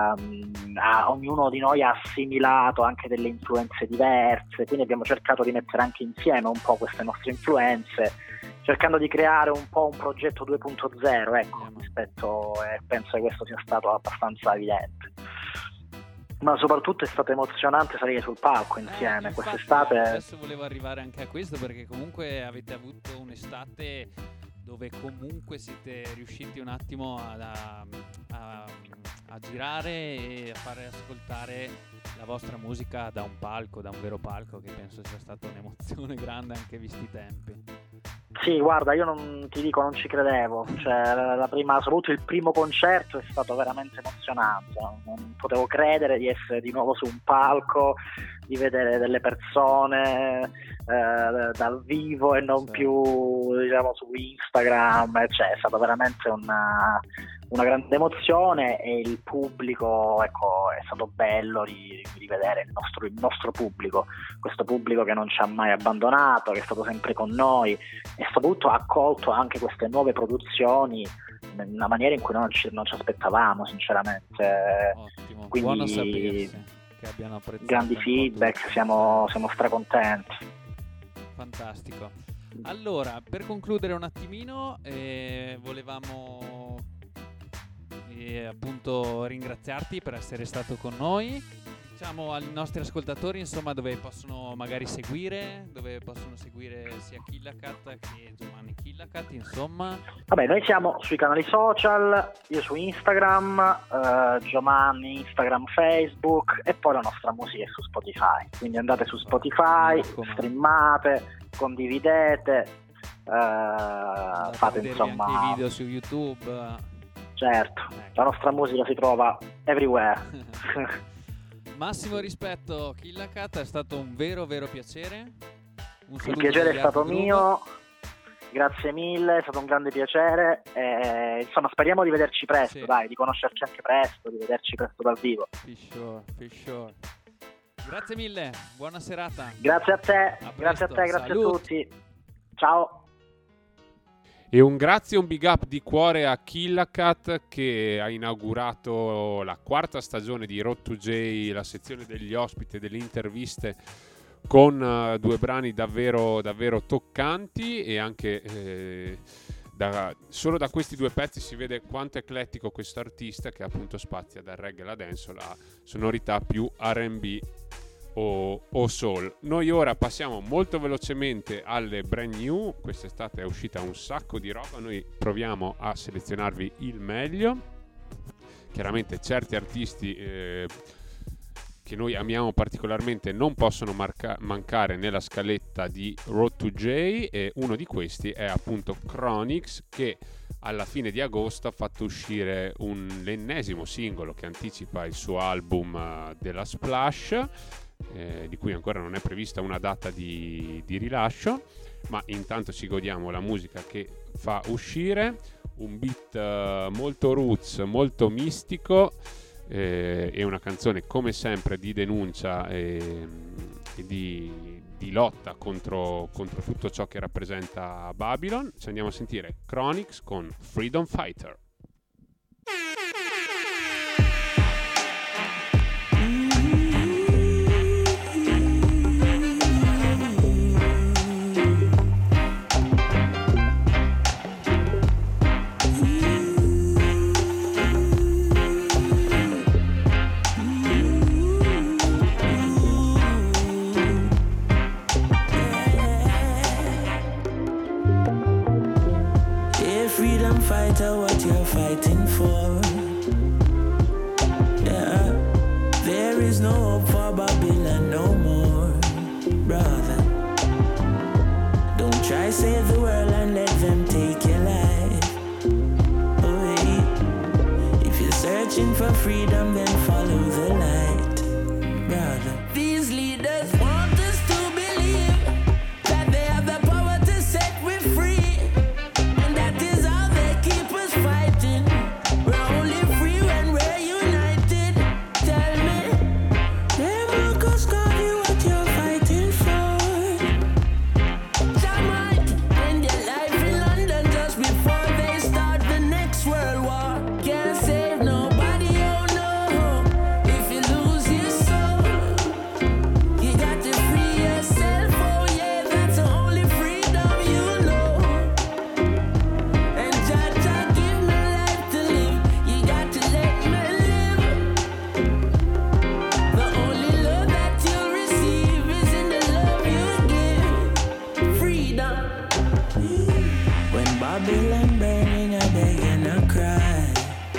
ha, ognuno di noi ha assimilato anche delle influenze diverse, quindi abbiamo cercato di mettere anche insieme un po' queste nostre influenze, cercando di creare un po' un progetto due punto zero, ecco, rispetto, e eh, penso che questo sia stato abbastanza evidente. Ma soprattutto è stato emozionante salire sul palco insieme, eh, quest'estate. Adesso volevo arrivare anche a questo, perché comunque avete avuto un'estate dove comunque siete riusciti un attimo ad, a, a, a girare e a fare ascoltare la vostra musica da un palco, da un vero palco, che penso sia stata un'emozione grande anche visti i tempi. Sì, guarda, io non ti dico, non ci credevo, cioè la prima, soprattutto il primo concerto è stato veramente emozionante, non potevo credere di essere di nuovo su un palco, di vedere delle persone eh, dal vivo e non sì. più, diciamo, su Instagram, cioè è stata veramente una, una grande emozione, e il pubblico, ecco, è stato bello di, di vedere il nostro, il nostro pubblico, questo pubblico che non ci ha mai abbandonato, che è stato sempre con noi, e soprattutto ha accolto anche queste nuove produzioni in una maniera in cui non ci, non ci aspettavamo, sinceramente. Ottimo, quindi buono sapersi che abbiano apprezzato grandi feedback, siamo, siamo stracontenti. Fantastico. Allora, per concludere un attimino, eh, volevamo eh, appunto ringraziarti per essere stato con noi. Diciamo ai nostri ascoltatori, insomma, dove possono magari seguire, dove possono seguire sia Killacat che Giovanni Killacat, insomma. Vabbè, noi siamo sui canali social, io su Instagram, eh, Giovanni Instagram, Facebook, e poi la nostra musica è su Spotify, quindi andate su Spotify, streamate, condividete, eh, fate insomma anche i video su YouTube. Certo, ecco. La nostra musica si trova everywhere. Massimo rispetto, Killacat, è stato un vero vero piacere. Un Il piacere è stato Groove. mio, grazie mille, è stato un grande piacere, e, insomma, speriamo di vederci presto, sì. Dai, di conoscerci anche presto, di vederci presto dal vivo. For sure, for sure. Grazie mille, buona serata. Grazie a te, a grazie a te, grazie Salut. a tutti. Ciao. E un grazie e un big up di cuore a Killacat, che ha inaugurato la quarta stagione di Road to J, la sezione degli ospiti e delle interviste, con uh, due brani davvero, davvero toccanti, e anche eh, da, solo da questi due pezzi si vede quanto è eclettico questo artista, che appunto spazia dal reggae alla dance, la sonorità più R and B O, o soul. Noi ora passiamo molto velocemente alle brand new. Quest'estate è uscita un sacco di roba, noi proviamo a selezionarvi il meglio. Chiaramente certi artisti eh, che noi amiamo particolarmente non possono marca- mancare nella scaletta di Road to J, e uno di questi è appunto Chronixx, che alla fine di agosto ha fatto uscire un, l'ennesimo singolo che anticipa il suo album uh, della Splash, Eh, di cui ancora non è prevista una data di, di rilascio, ma intanto ci godiamo la musica che fa uscire, un beat uh, molto roots, molto mistico, eh, e una canzone come sempre di denuncia e, e di, di lotta contro, contro tutto ciò che rappresenta Babylon. Ci andiamo a sentire Chronixx con Freedom Fighter. Fighter, what you're fighting for? Yeah, there is no hope for Babylon no more. Try save the world and let them take your life. Oh, hey. If you're searching for freedom, then follow the light, brother. These leaders want us to believe that they have the power to set we free, and that is how they keep us fighting. We're only free when we're united. Tell me, they won't cause you what you're fighting for. Jamaica end their life in London just before they start the next world war. Can't save nobody, oh no. If you lose your soul, you got to free yourself. Oh yeah, that's the only freedom you know. And Jah Jah give me life to live. You got to let me live. The only love that you'll receive is in the love you give. Freedom. When Babylon burning, I beg and I cry.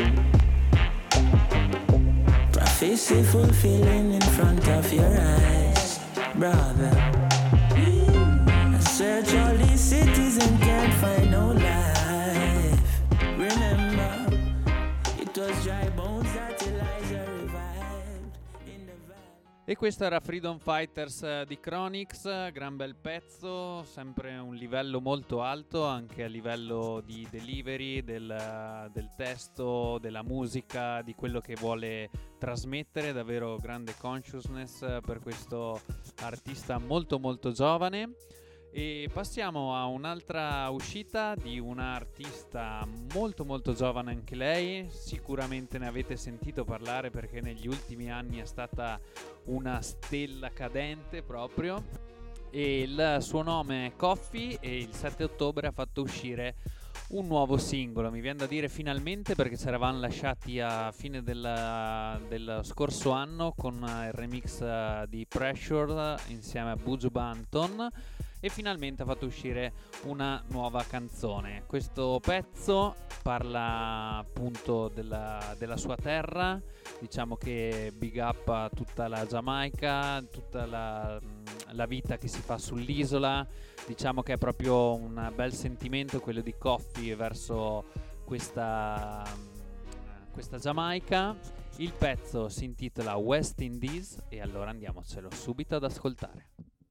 Prophecy fulfilling in front of your eyes, brother. I search all these cities and can't find no life. Remember, it was dry bones that Elijah revived in the valley. E questo era Freedom Fighters eh, di Chronix, gran bel pezzo, sempre un livello molto alto anche a livello di delivery, del, del testo, della musica, di quello che vuole trasmettere, davvero grande consciousness eh, per questo artista molto molto giovane. E passiamo a un'altra uscita di un'artista molto molto giovane anche lei, sicuramente ne avete sentito parlare perché negli ultimi anni è stata una stella cadente proprio, e il suo nome è Coffee e il sette ottobre ha fatto uscire un nuovo singolo, mi viene da dire finalmente perché ci eravamo lasciati a fine del, del scorso anno con il remix di Pressure insieme a Buju Banton, e finalmente ha fatto uscire una nuova canzone. Questo pezzo parla appunto della, della sua terra, diciamo che big up a tutta la Giamaica, tutta la, la vita che si fa sull'isola, diciamo che è proprio un bel sentimento quello di Coffee verso questa, questa Giamaica. Il pezzo si intitola West Indies e allora andiamocelo subito ad ascoltare.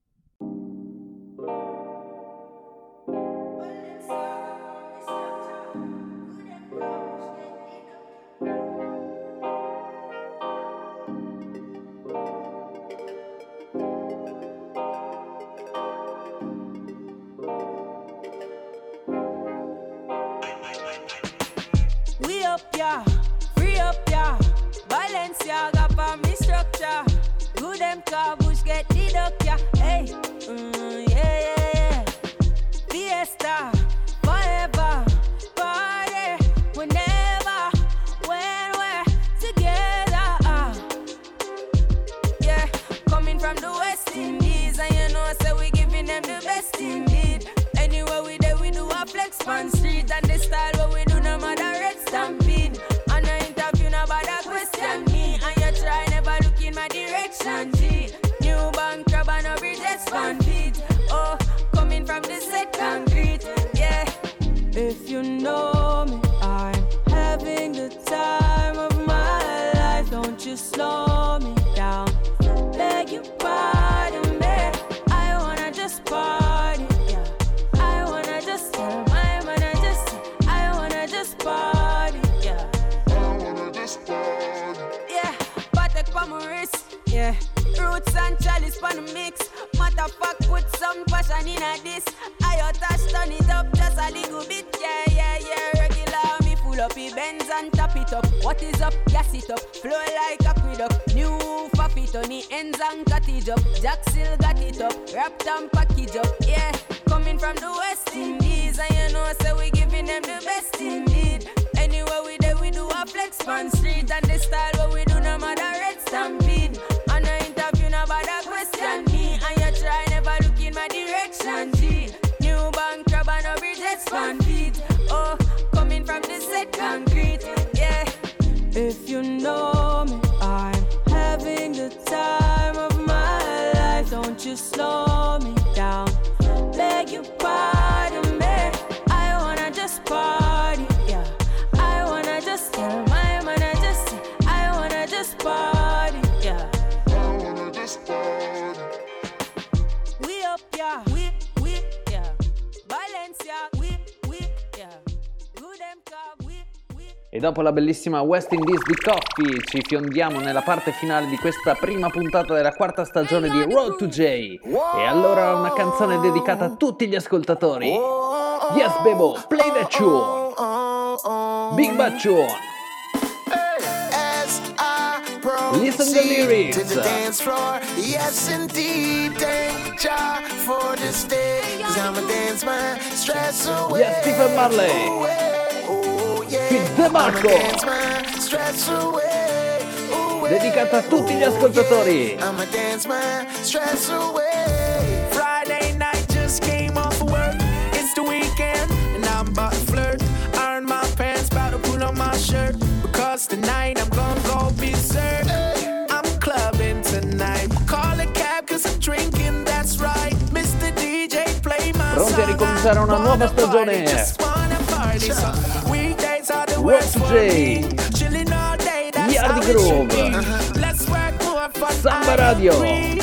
We up, yeah, free up, yeah. Balenciaga for me structure. Good them car bush get the duck, yeah. Hey, mm, yeah, yeah, yeah. Fiesta, forever, party, whenever, when we're together. Uh. Yeah, coming from the West Indies, and you know, so we giving them the best indeed. Anywhere we there, we do a flex on street, and the style what we do no matter red stampede. And no interview no bother question me, and you try never look in my direction. G, new bank crab and no bridges fan beat. Oh, coming from the set concrete, yeah. If you know me, I'm having the time of my life. Don't you slow me down, beg you pardon me. I wanna just party, yeah. I wanna just tell my man I just, I wanna just party, yeah. I wanna just party, yeah. Patek pa my wrist, yeah. Roots and chalice pa the mix. Matter of fact, put some passion in a this. I touch, turn it up just a little bit, yeah, yeah, yeah. Regular me full up, he bends and tap it up. What is up? Gas it up, flow like aqueduct. New faffy on the ends and cottage up. Jack still got it up, wrapped and package up, yeah. Coming from the West Indies, and you know, so we giving them the best indeed. Anywhere we there, we do a flex on street, and the style what we do no matter red stampede. And no interview no bother question me, and you try never look in my direction. G, new bank crab and no bridges fan beat. Oh, coming from the set concrete, yeah. If you know me, I'm having the time of my life. Don't you slow me down, beg you pardon. E dopo la bellissima West Indies di Coffee ci fiondiamo nella parte finale di questa prima puntata della quarta stagione di Road to J. E allora una canzone dedicata a tutti gli ascoltatori. Yes, Bebo, play the tune. Big Bad Tune. Listen to the lyrics. To the dance floor. Yes, indeed. Thank Jah for this day. Cause I'ma dance my stress away. Yes, Stephen Marley. Oh, yeah. With the Marco. Dance my stress away. away. Dedicata a tutti gli ascoltatori. I'ma dance my stress away. Friday night just came off work. It's the weekend and I'm about to flirt. Iron my pants, about to pull on my shirt. Because tonight I'm gonna go berserk. I'm clubbing tonight. Call a cab cause I'm drinking, that's right. mister D J play my song. Pronti a ricominciare una nuova stagione. Road to J. Yardi Groove. Samba Radio.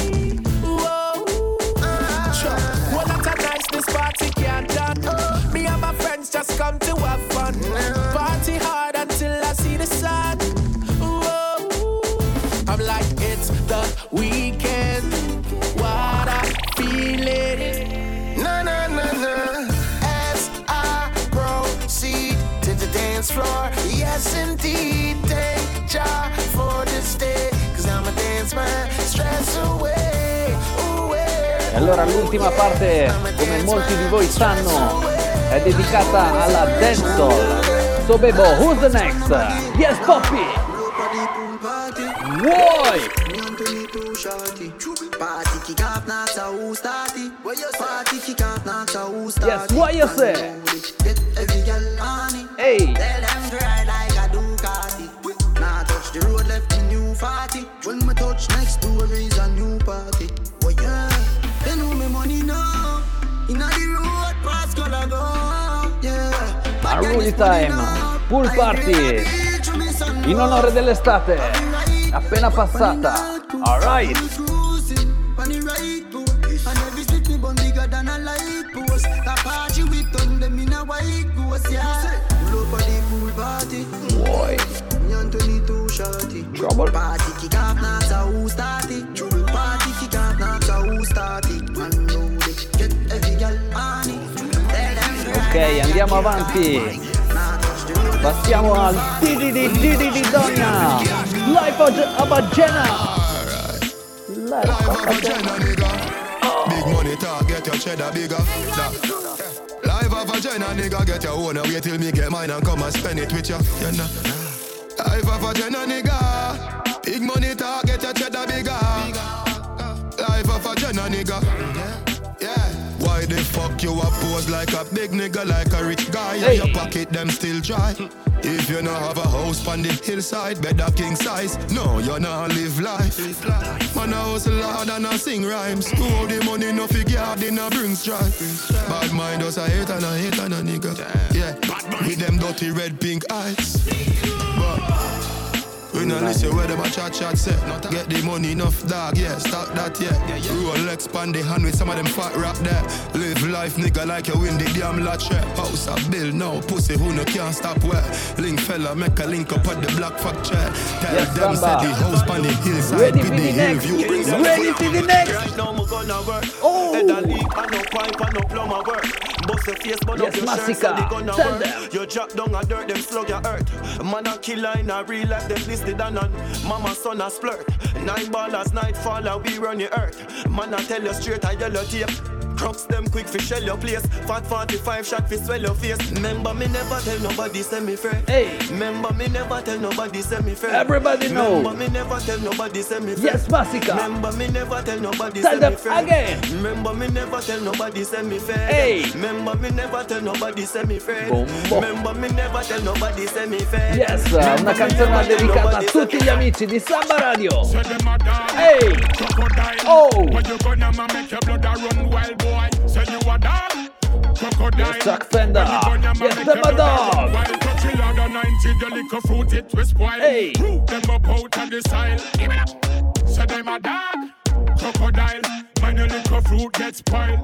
Me and my friends just come to have fun. Party hard until I see the sun. Whoa. I'm like, it's the weekend. What I feel it. Na na na na. As I proceed to the dance floor. Yes indeed. Thank Jah for this day. Cause I'ma dance my stress away. away. E allora l'ultima parte, come molti di voi sanno, è dedicata alla dancehall. So Bebo, who's the next? Yes, Poppy! Why? Yes, what you say? Hey! Now touch the road left in new forty. When me touch next door is a new party. Oh yeah, they know me money now. Inna the road pass color go. Yeah. Maruli time, pool party, in onore dell'estate, appena passata. Alright. Vuoi? Trouble. Party kick off now, so who started? Party kick off now, so who started? Get every girl on it. Ok, andiamo avanti. Passiamo al D D D D D di Donna. Life of a Bagena. Life of a Bagena. Big money talk, get your cheddar bigger. Life of a Bagena, nigga, get your own. Wait till me get mine and come and spend it with you. You know. Life of a Bagena, nigga. Big money talk, get your cheddar bigger. Life of a Bagena, nigga. Yeah. Why the fuck you a pose like a big nigga, like a rich guy? Hey. Your pocket them still dry. If you not have a house on the hillside, better king size. No, you not live life. Man a hustle hard and a sing rhymes. Who hold the money no figure hard in a bring strife. Bad mind us a hate and a hate and a nigga. Yeah, with them dirty red pink eyes. But we not listen where them a chat chat say. Get the money enough dog, yeah, stop that, yeah. Rolex pan the hand with some of them fat rap there. Live life nigga like you win the damn lottery. House a bill now, pussy who no can't stop where. Link fella make a link up at the black fuck chair. Tell yes, them say the house pan the hillside. Ready for the next, ready for the next. Right now me gonna work. Oh. Head a leak and no pipe and no plumber work. Bust the face but yes, up your Massika. shirt so they gonna Tell work. them. You drop down a dirt, them slug your earth. Man a killer in a real life, them listed and on. Mama son a splurt. Nine ballers, night faller, we run your earth. Man I tell you straight, I yellow tape. Crooks them quick fi shell your place. Fat forty-five shot fi swell your face. Remember me never tell nobody say me fair. Hey. Remember me never tell nobody say me fair. Everybody know. Remember me never tell nobody say me fair. Yes, Massika. Remember me never tell nobody tell say them me fair. Again. Remember me never tell nobody say me fair. Hey. Remember me never tell nobody say me fair. Boom, boom. Remember me never tell nobody say me fair. Yes, una canzone dedicata a tutti gli amici di Samba Radio. Hey. Oh. Yes, Chuck Fender. Yes, them a dog. Hey. Them up out of the style. So them a dog. Crocodile. Man, a little fruit gets spoiled.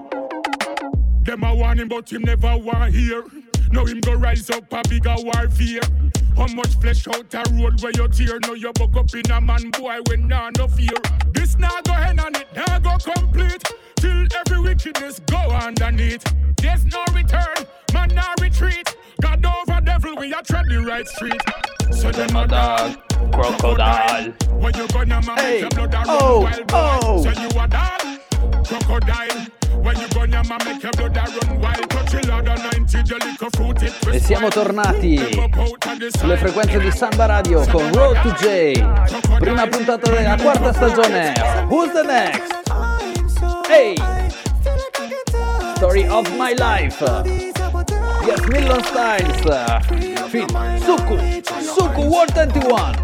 Them a want him, but him never want hear. Now him go rise up a bigger warfare. How much flesh out a road where you tear? Now you buck up in a man boy when nah no fear. This nah go end on it, nah go complete. Till every wickedness go underneath. There's no return, man nah retreat. God over devil, we are tread the right street. So them a dog, crocodile. When you gonna man make your blood a run wild boy. So you a dog, crocodile. When you gonna man make your blood a run wild. Touch a lot of ninety, the liquor fruit it. E siamo tornati sulle frequenze di Samba Radio con Road to J. Prima puntata della quarta stagione. Who's the next? Hey! Story of my life. Yes, Million Styles. Fit Suku. Suku World twenty-one.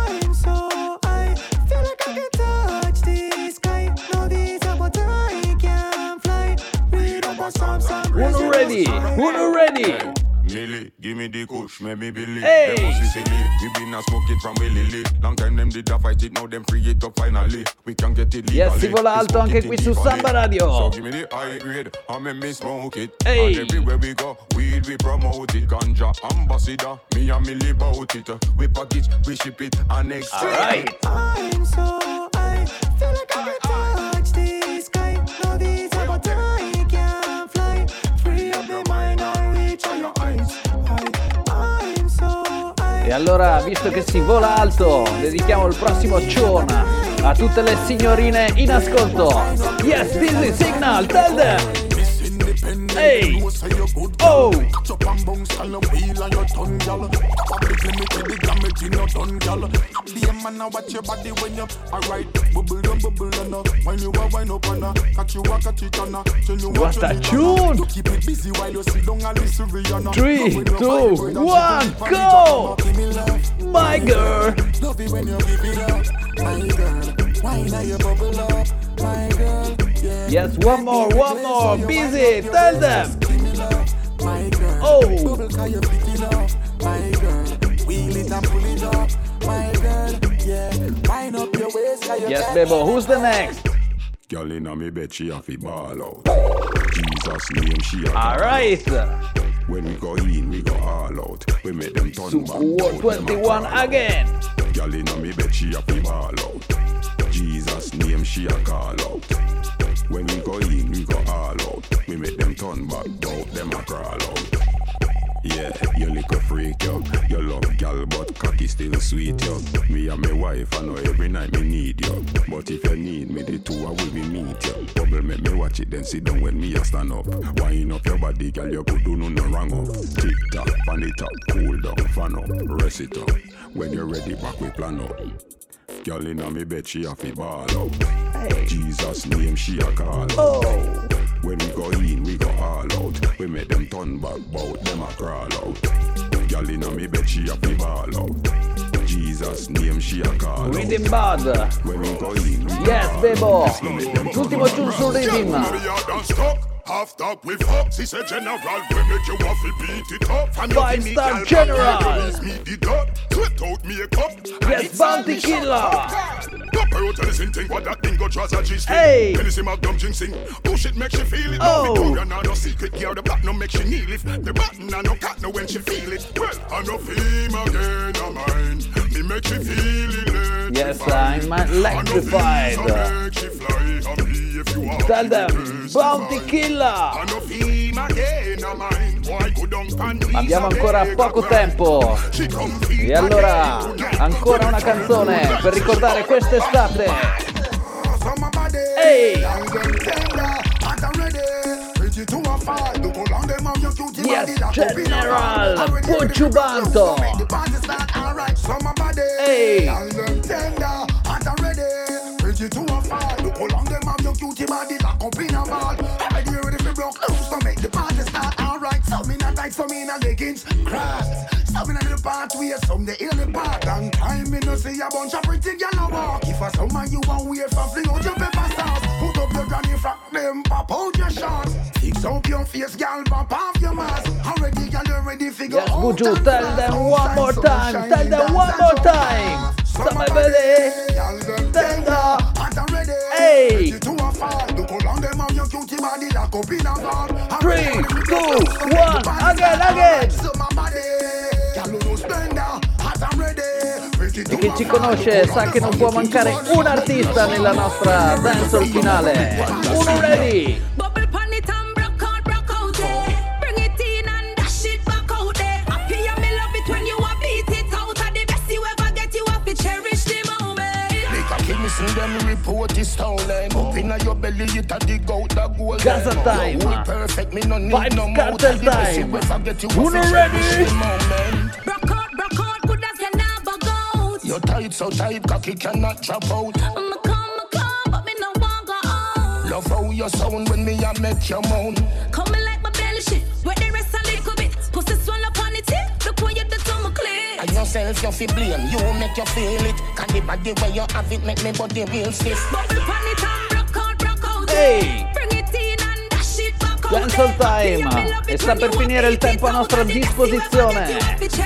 Uno ready? Uno ready? Millie, give me the kush, make me believe. Hey. Them pussy silly, we been a smoke it from Willy Lee. Long time them did a fight it, now them free it up finally. We can get it legally. Yes, si vola alto anche qui su Samba Radio. So give me the high grade, I make me smoke it. Hey. And everywhere we go, weed we promote it. Ganja ambassador, me and Millie bout it. We package, we ship it, and next. Alright. I'm so high, feel like I can touch the sky. No, these are but I can fly. Free up the mind and reach on your eyes. I'm so high. E allora, visto che si vola alto, dedichiamo il prossimo Ciona a tutte le signorine in ascolto. Yes, this is Signal, tell them. Hey! Oh! What a tune! Three, two, one, go! My girl! Love it when you give it up, my girl. Why now you bubble up, my girl? Yeah. Yes, one more, one more. Busy, tell them. My girl. Oh. Bubble cause you pick it up, my girl. Wheel it and pull it up, my girl. Yeah. Wind up your waist cause you Yes, Bebo, who's the next? Girl inna me bed, she have to ball out. Jesus name, she a All right. When we go in, we go all out. We make them turn back. Super twenty-one again. Girl inna me bed, she have to ball out. Jesus name, she a call out. When we go in, we go all out. We make them turn back, out, them a crawl out. Yeah, you little freak, yo. You love gal, but cocky still sweet, yo. Me and my wife, I know every night me need you. But if you need me, the two I will be meet you. Bubble make me watch it, then sit down when me a stand up. Wind up your body, gal, you could do no no wrong up. Tick tock, pan it up, cool down, fan up, rest it up. When you're ready, back we plan up. Girl inna me bed, she have to ball out. Hey. Jesus name, she a call out. Oh. When we go in, we go all out. We make them turn back, bout them a crawl out. Girl inna me bed, she have to ball out. Jesus name, she a call out. Rhythm Bad. When we go in, we Yes, go Bebo. L'ultimo tune sul Rhythm. Half talk with Fox, he said general, we make you waffle beat it up. Five star general. Me the dot, sweat out me a cup. Yes, Bounty Killer. Papa out listen thing what that thing go trust a G string. Hey. When you see my dumb jinxing, push it make she feel it. Oh. Victoria now no secret gear, the back no make she kneel it. The button and no cat no when she feel it. Well, I no feel again a mind. Me make she feel it. Yes, I'm electrified. Tell them, Bounty Killer. Abbiamo ancora poco tempo. E allora, ancora una canzone per ricordare quest'estate. Ehi! Yes, General Pucciu Banto. Ehi! Some in a leggings, cross. Some in a little part where some they in the park. Long time me no see a bunch of pretty gyal walk. If a summer you want wear for fling out your pepper sauce. Put up your granny frock, them pop out your shorts. Fix up your face, gyal, pop off your mask. Already gyal, you ready figure Yes, out. Buju, tell them one more time. Tell them one more time. Some belly. Tell them. Hey. Three, two, one, again, again. E chi ci conosce sa che non può mancare un artista nella nostra dancehall finale. Uno ready! Bubble pan it and broke out, broke out, yeah. Bring it in and dash it back out there. Happy and me love it when you a beat it out. And the best you ever get, you have to cherish the moment. Make a king, listen them report is stolen. Up inna your belly, it a dig out the gold. Gaza time. You perfect, me no need no more. Cartel time. Uno ready? Broke out, broke out, good as you never go. Your tight so tight, cocky cannot drop out. I'ma come, I'ma come, but me no want go out. Love how you sound when me a make you moan. Coming like my belly shit, where the rest a little bit. Pussy swell up on it, look when you do to my clear. And yourself you feel blame, you make you feel it. Can the body where you have it make me body real stiff. Bubble pan it and broke out, broke out. Hey! Bring it in and dash it back out. Dancehall time! E sta per finire il tempo a nostra disposizione.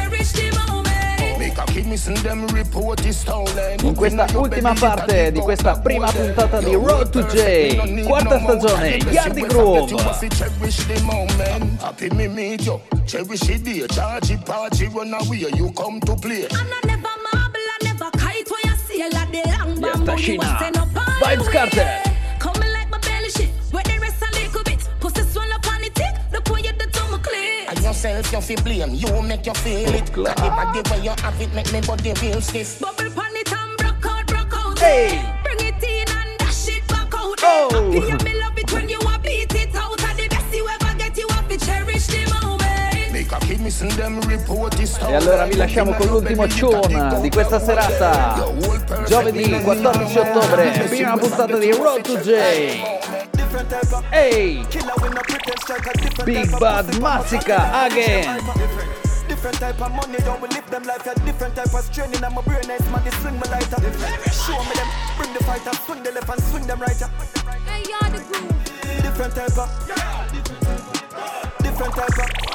In questa ultima parte di questa prima puntata di Road to J, quarta stagione, Yardi Groove. Happy me meet you, cherish the day, charge it, party, run away, you come to play. And I never marble, I never kite where you see a lot the long bamboo. Yes, You Tashina. was in a party. Vibes Cartel. Coming like my belly shit, where the rest a little bit. Pussy swell up on it, look when you do to my clear. And yourself you feel blame, you make you feel it. Can the body where you have it make me body real stiff. Bubble pan it and broke out, broke out. Hey. Bring it in and dash it back out. Oh. Happy and me love it when you a beat it out. And the best you ever get, you have to cherish the moment. Make a kid missing them report this E allora vi lasciamo con l'ultimo tune di questa serata. Giovedì quattordici ottobre, prima puntata di Road to J. Ehi! Big Bad Massacre again! Different type of money, don't we live them life. Yeah, different type of training, and my brain is man, they swing my lighter. Show me them, bring the fighter, swing the left and swing them right. Hey, you're the groove. Different type of, different type of.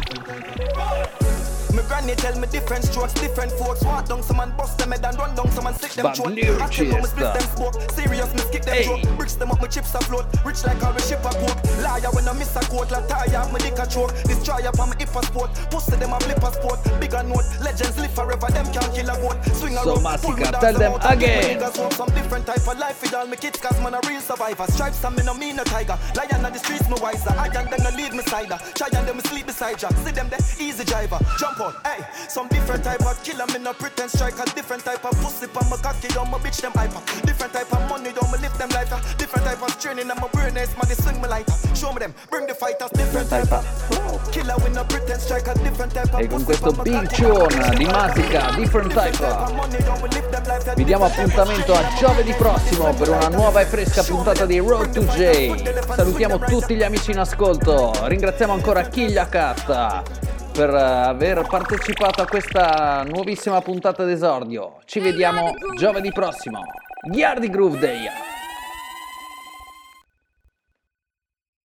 My granny tell me different strokes, different folks. Walk down some and bust them head and run down some and stick them Bad throat. lyrics, Action how me split yes, them smoke. Serious me skip them Hey. throat. Bricks them up, my chips afloat. Rich like how we ship a coat. Liar when I miss a quote. La tire, me dick a choke. Destroy up on my hip a sport. Post them a flip a sport. Bigger note. Legends live forever. Them can't kill a goat. Swing a So rope. Massacre, pull me down tell some them out and again. people niggas want some different type of life with all my kids. Cause man a real survivor. Stripes and me no mean a tiger. Lion on the streets me wiser. I and them no lead me side. Try and them me sleep beside ya. See them there, easy driver. Jump out, hey. Some different type of killer, me no pretend striker. Different type of pussy on my cocky, don't my bitch them hyper. Different type of money, don't me lift them lighter. Different type of training, and my brain is man, they swing me lighter. Show me them, bring the fighters. Different type of killer, we no pretend striker. Different type of E con questo big tune di Massacre, Different Type, vi diamo appuntamento a giovedì prossimo per una nuova e fresca puntata di Road to J. Salutiamo tutti gli amici in ascolto, ringraziamo ancora Killa Cat per aver partecipato a questa nuovissima puntata d'esordio. Ci vediamo giovedì prossimo. Yardi Groove Day!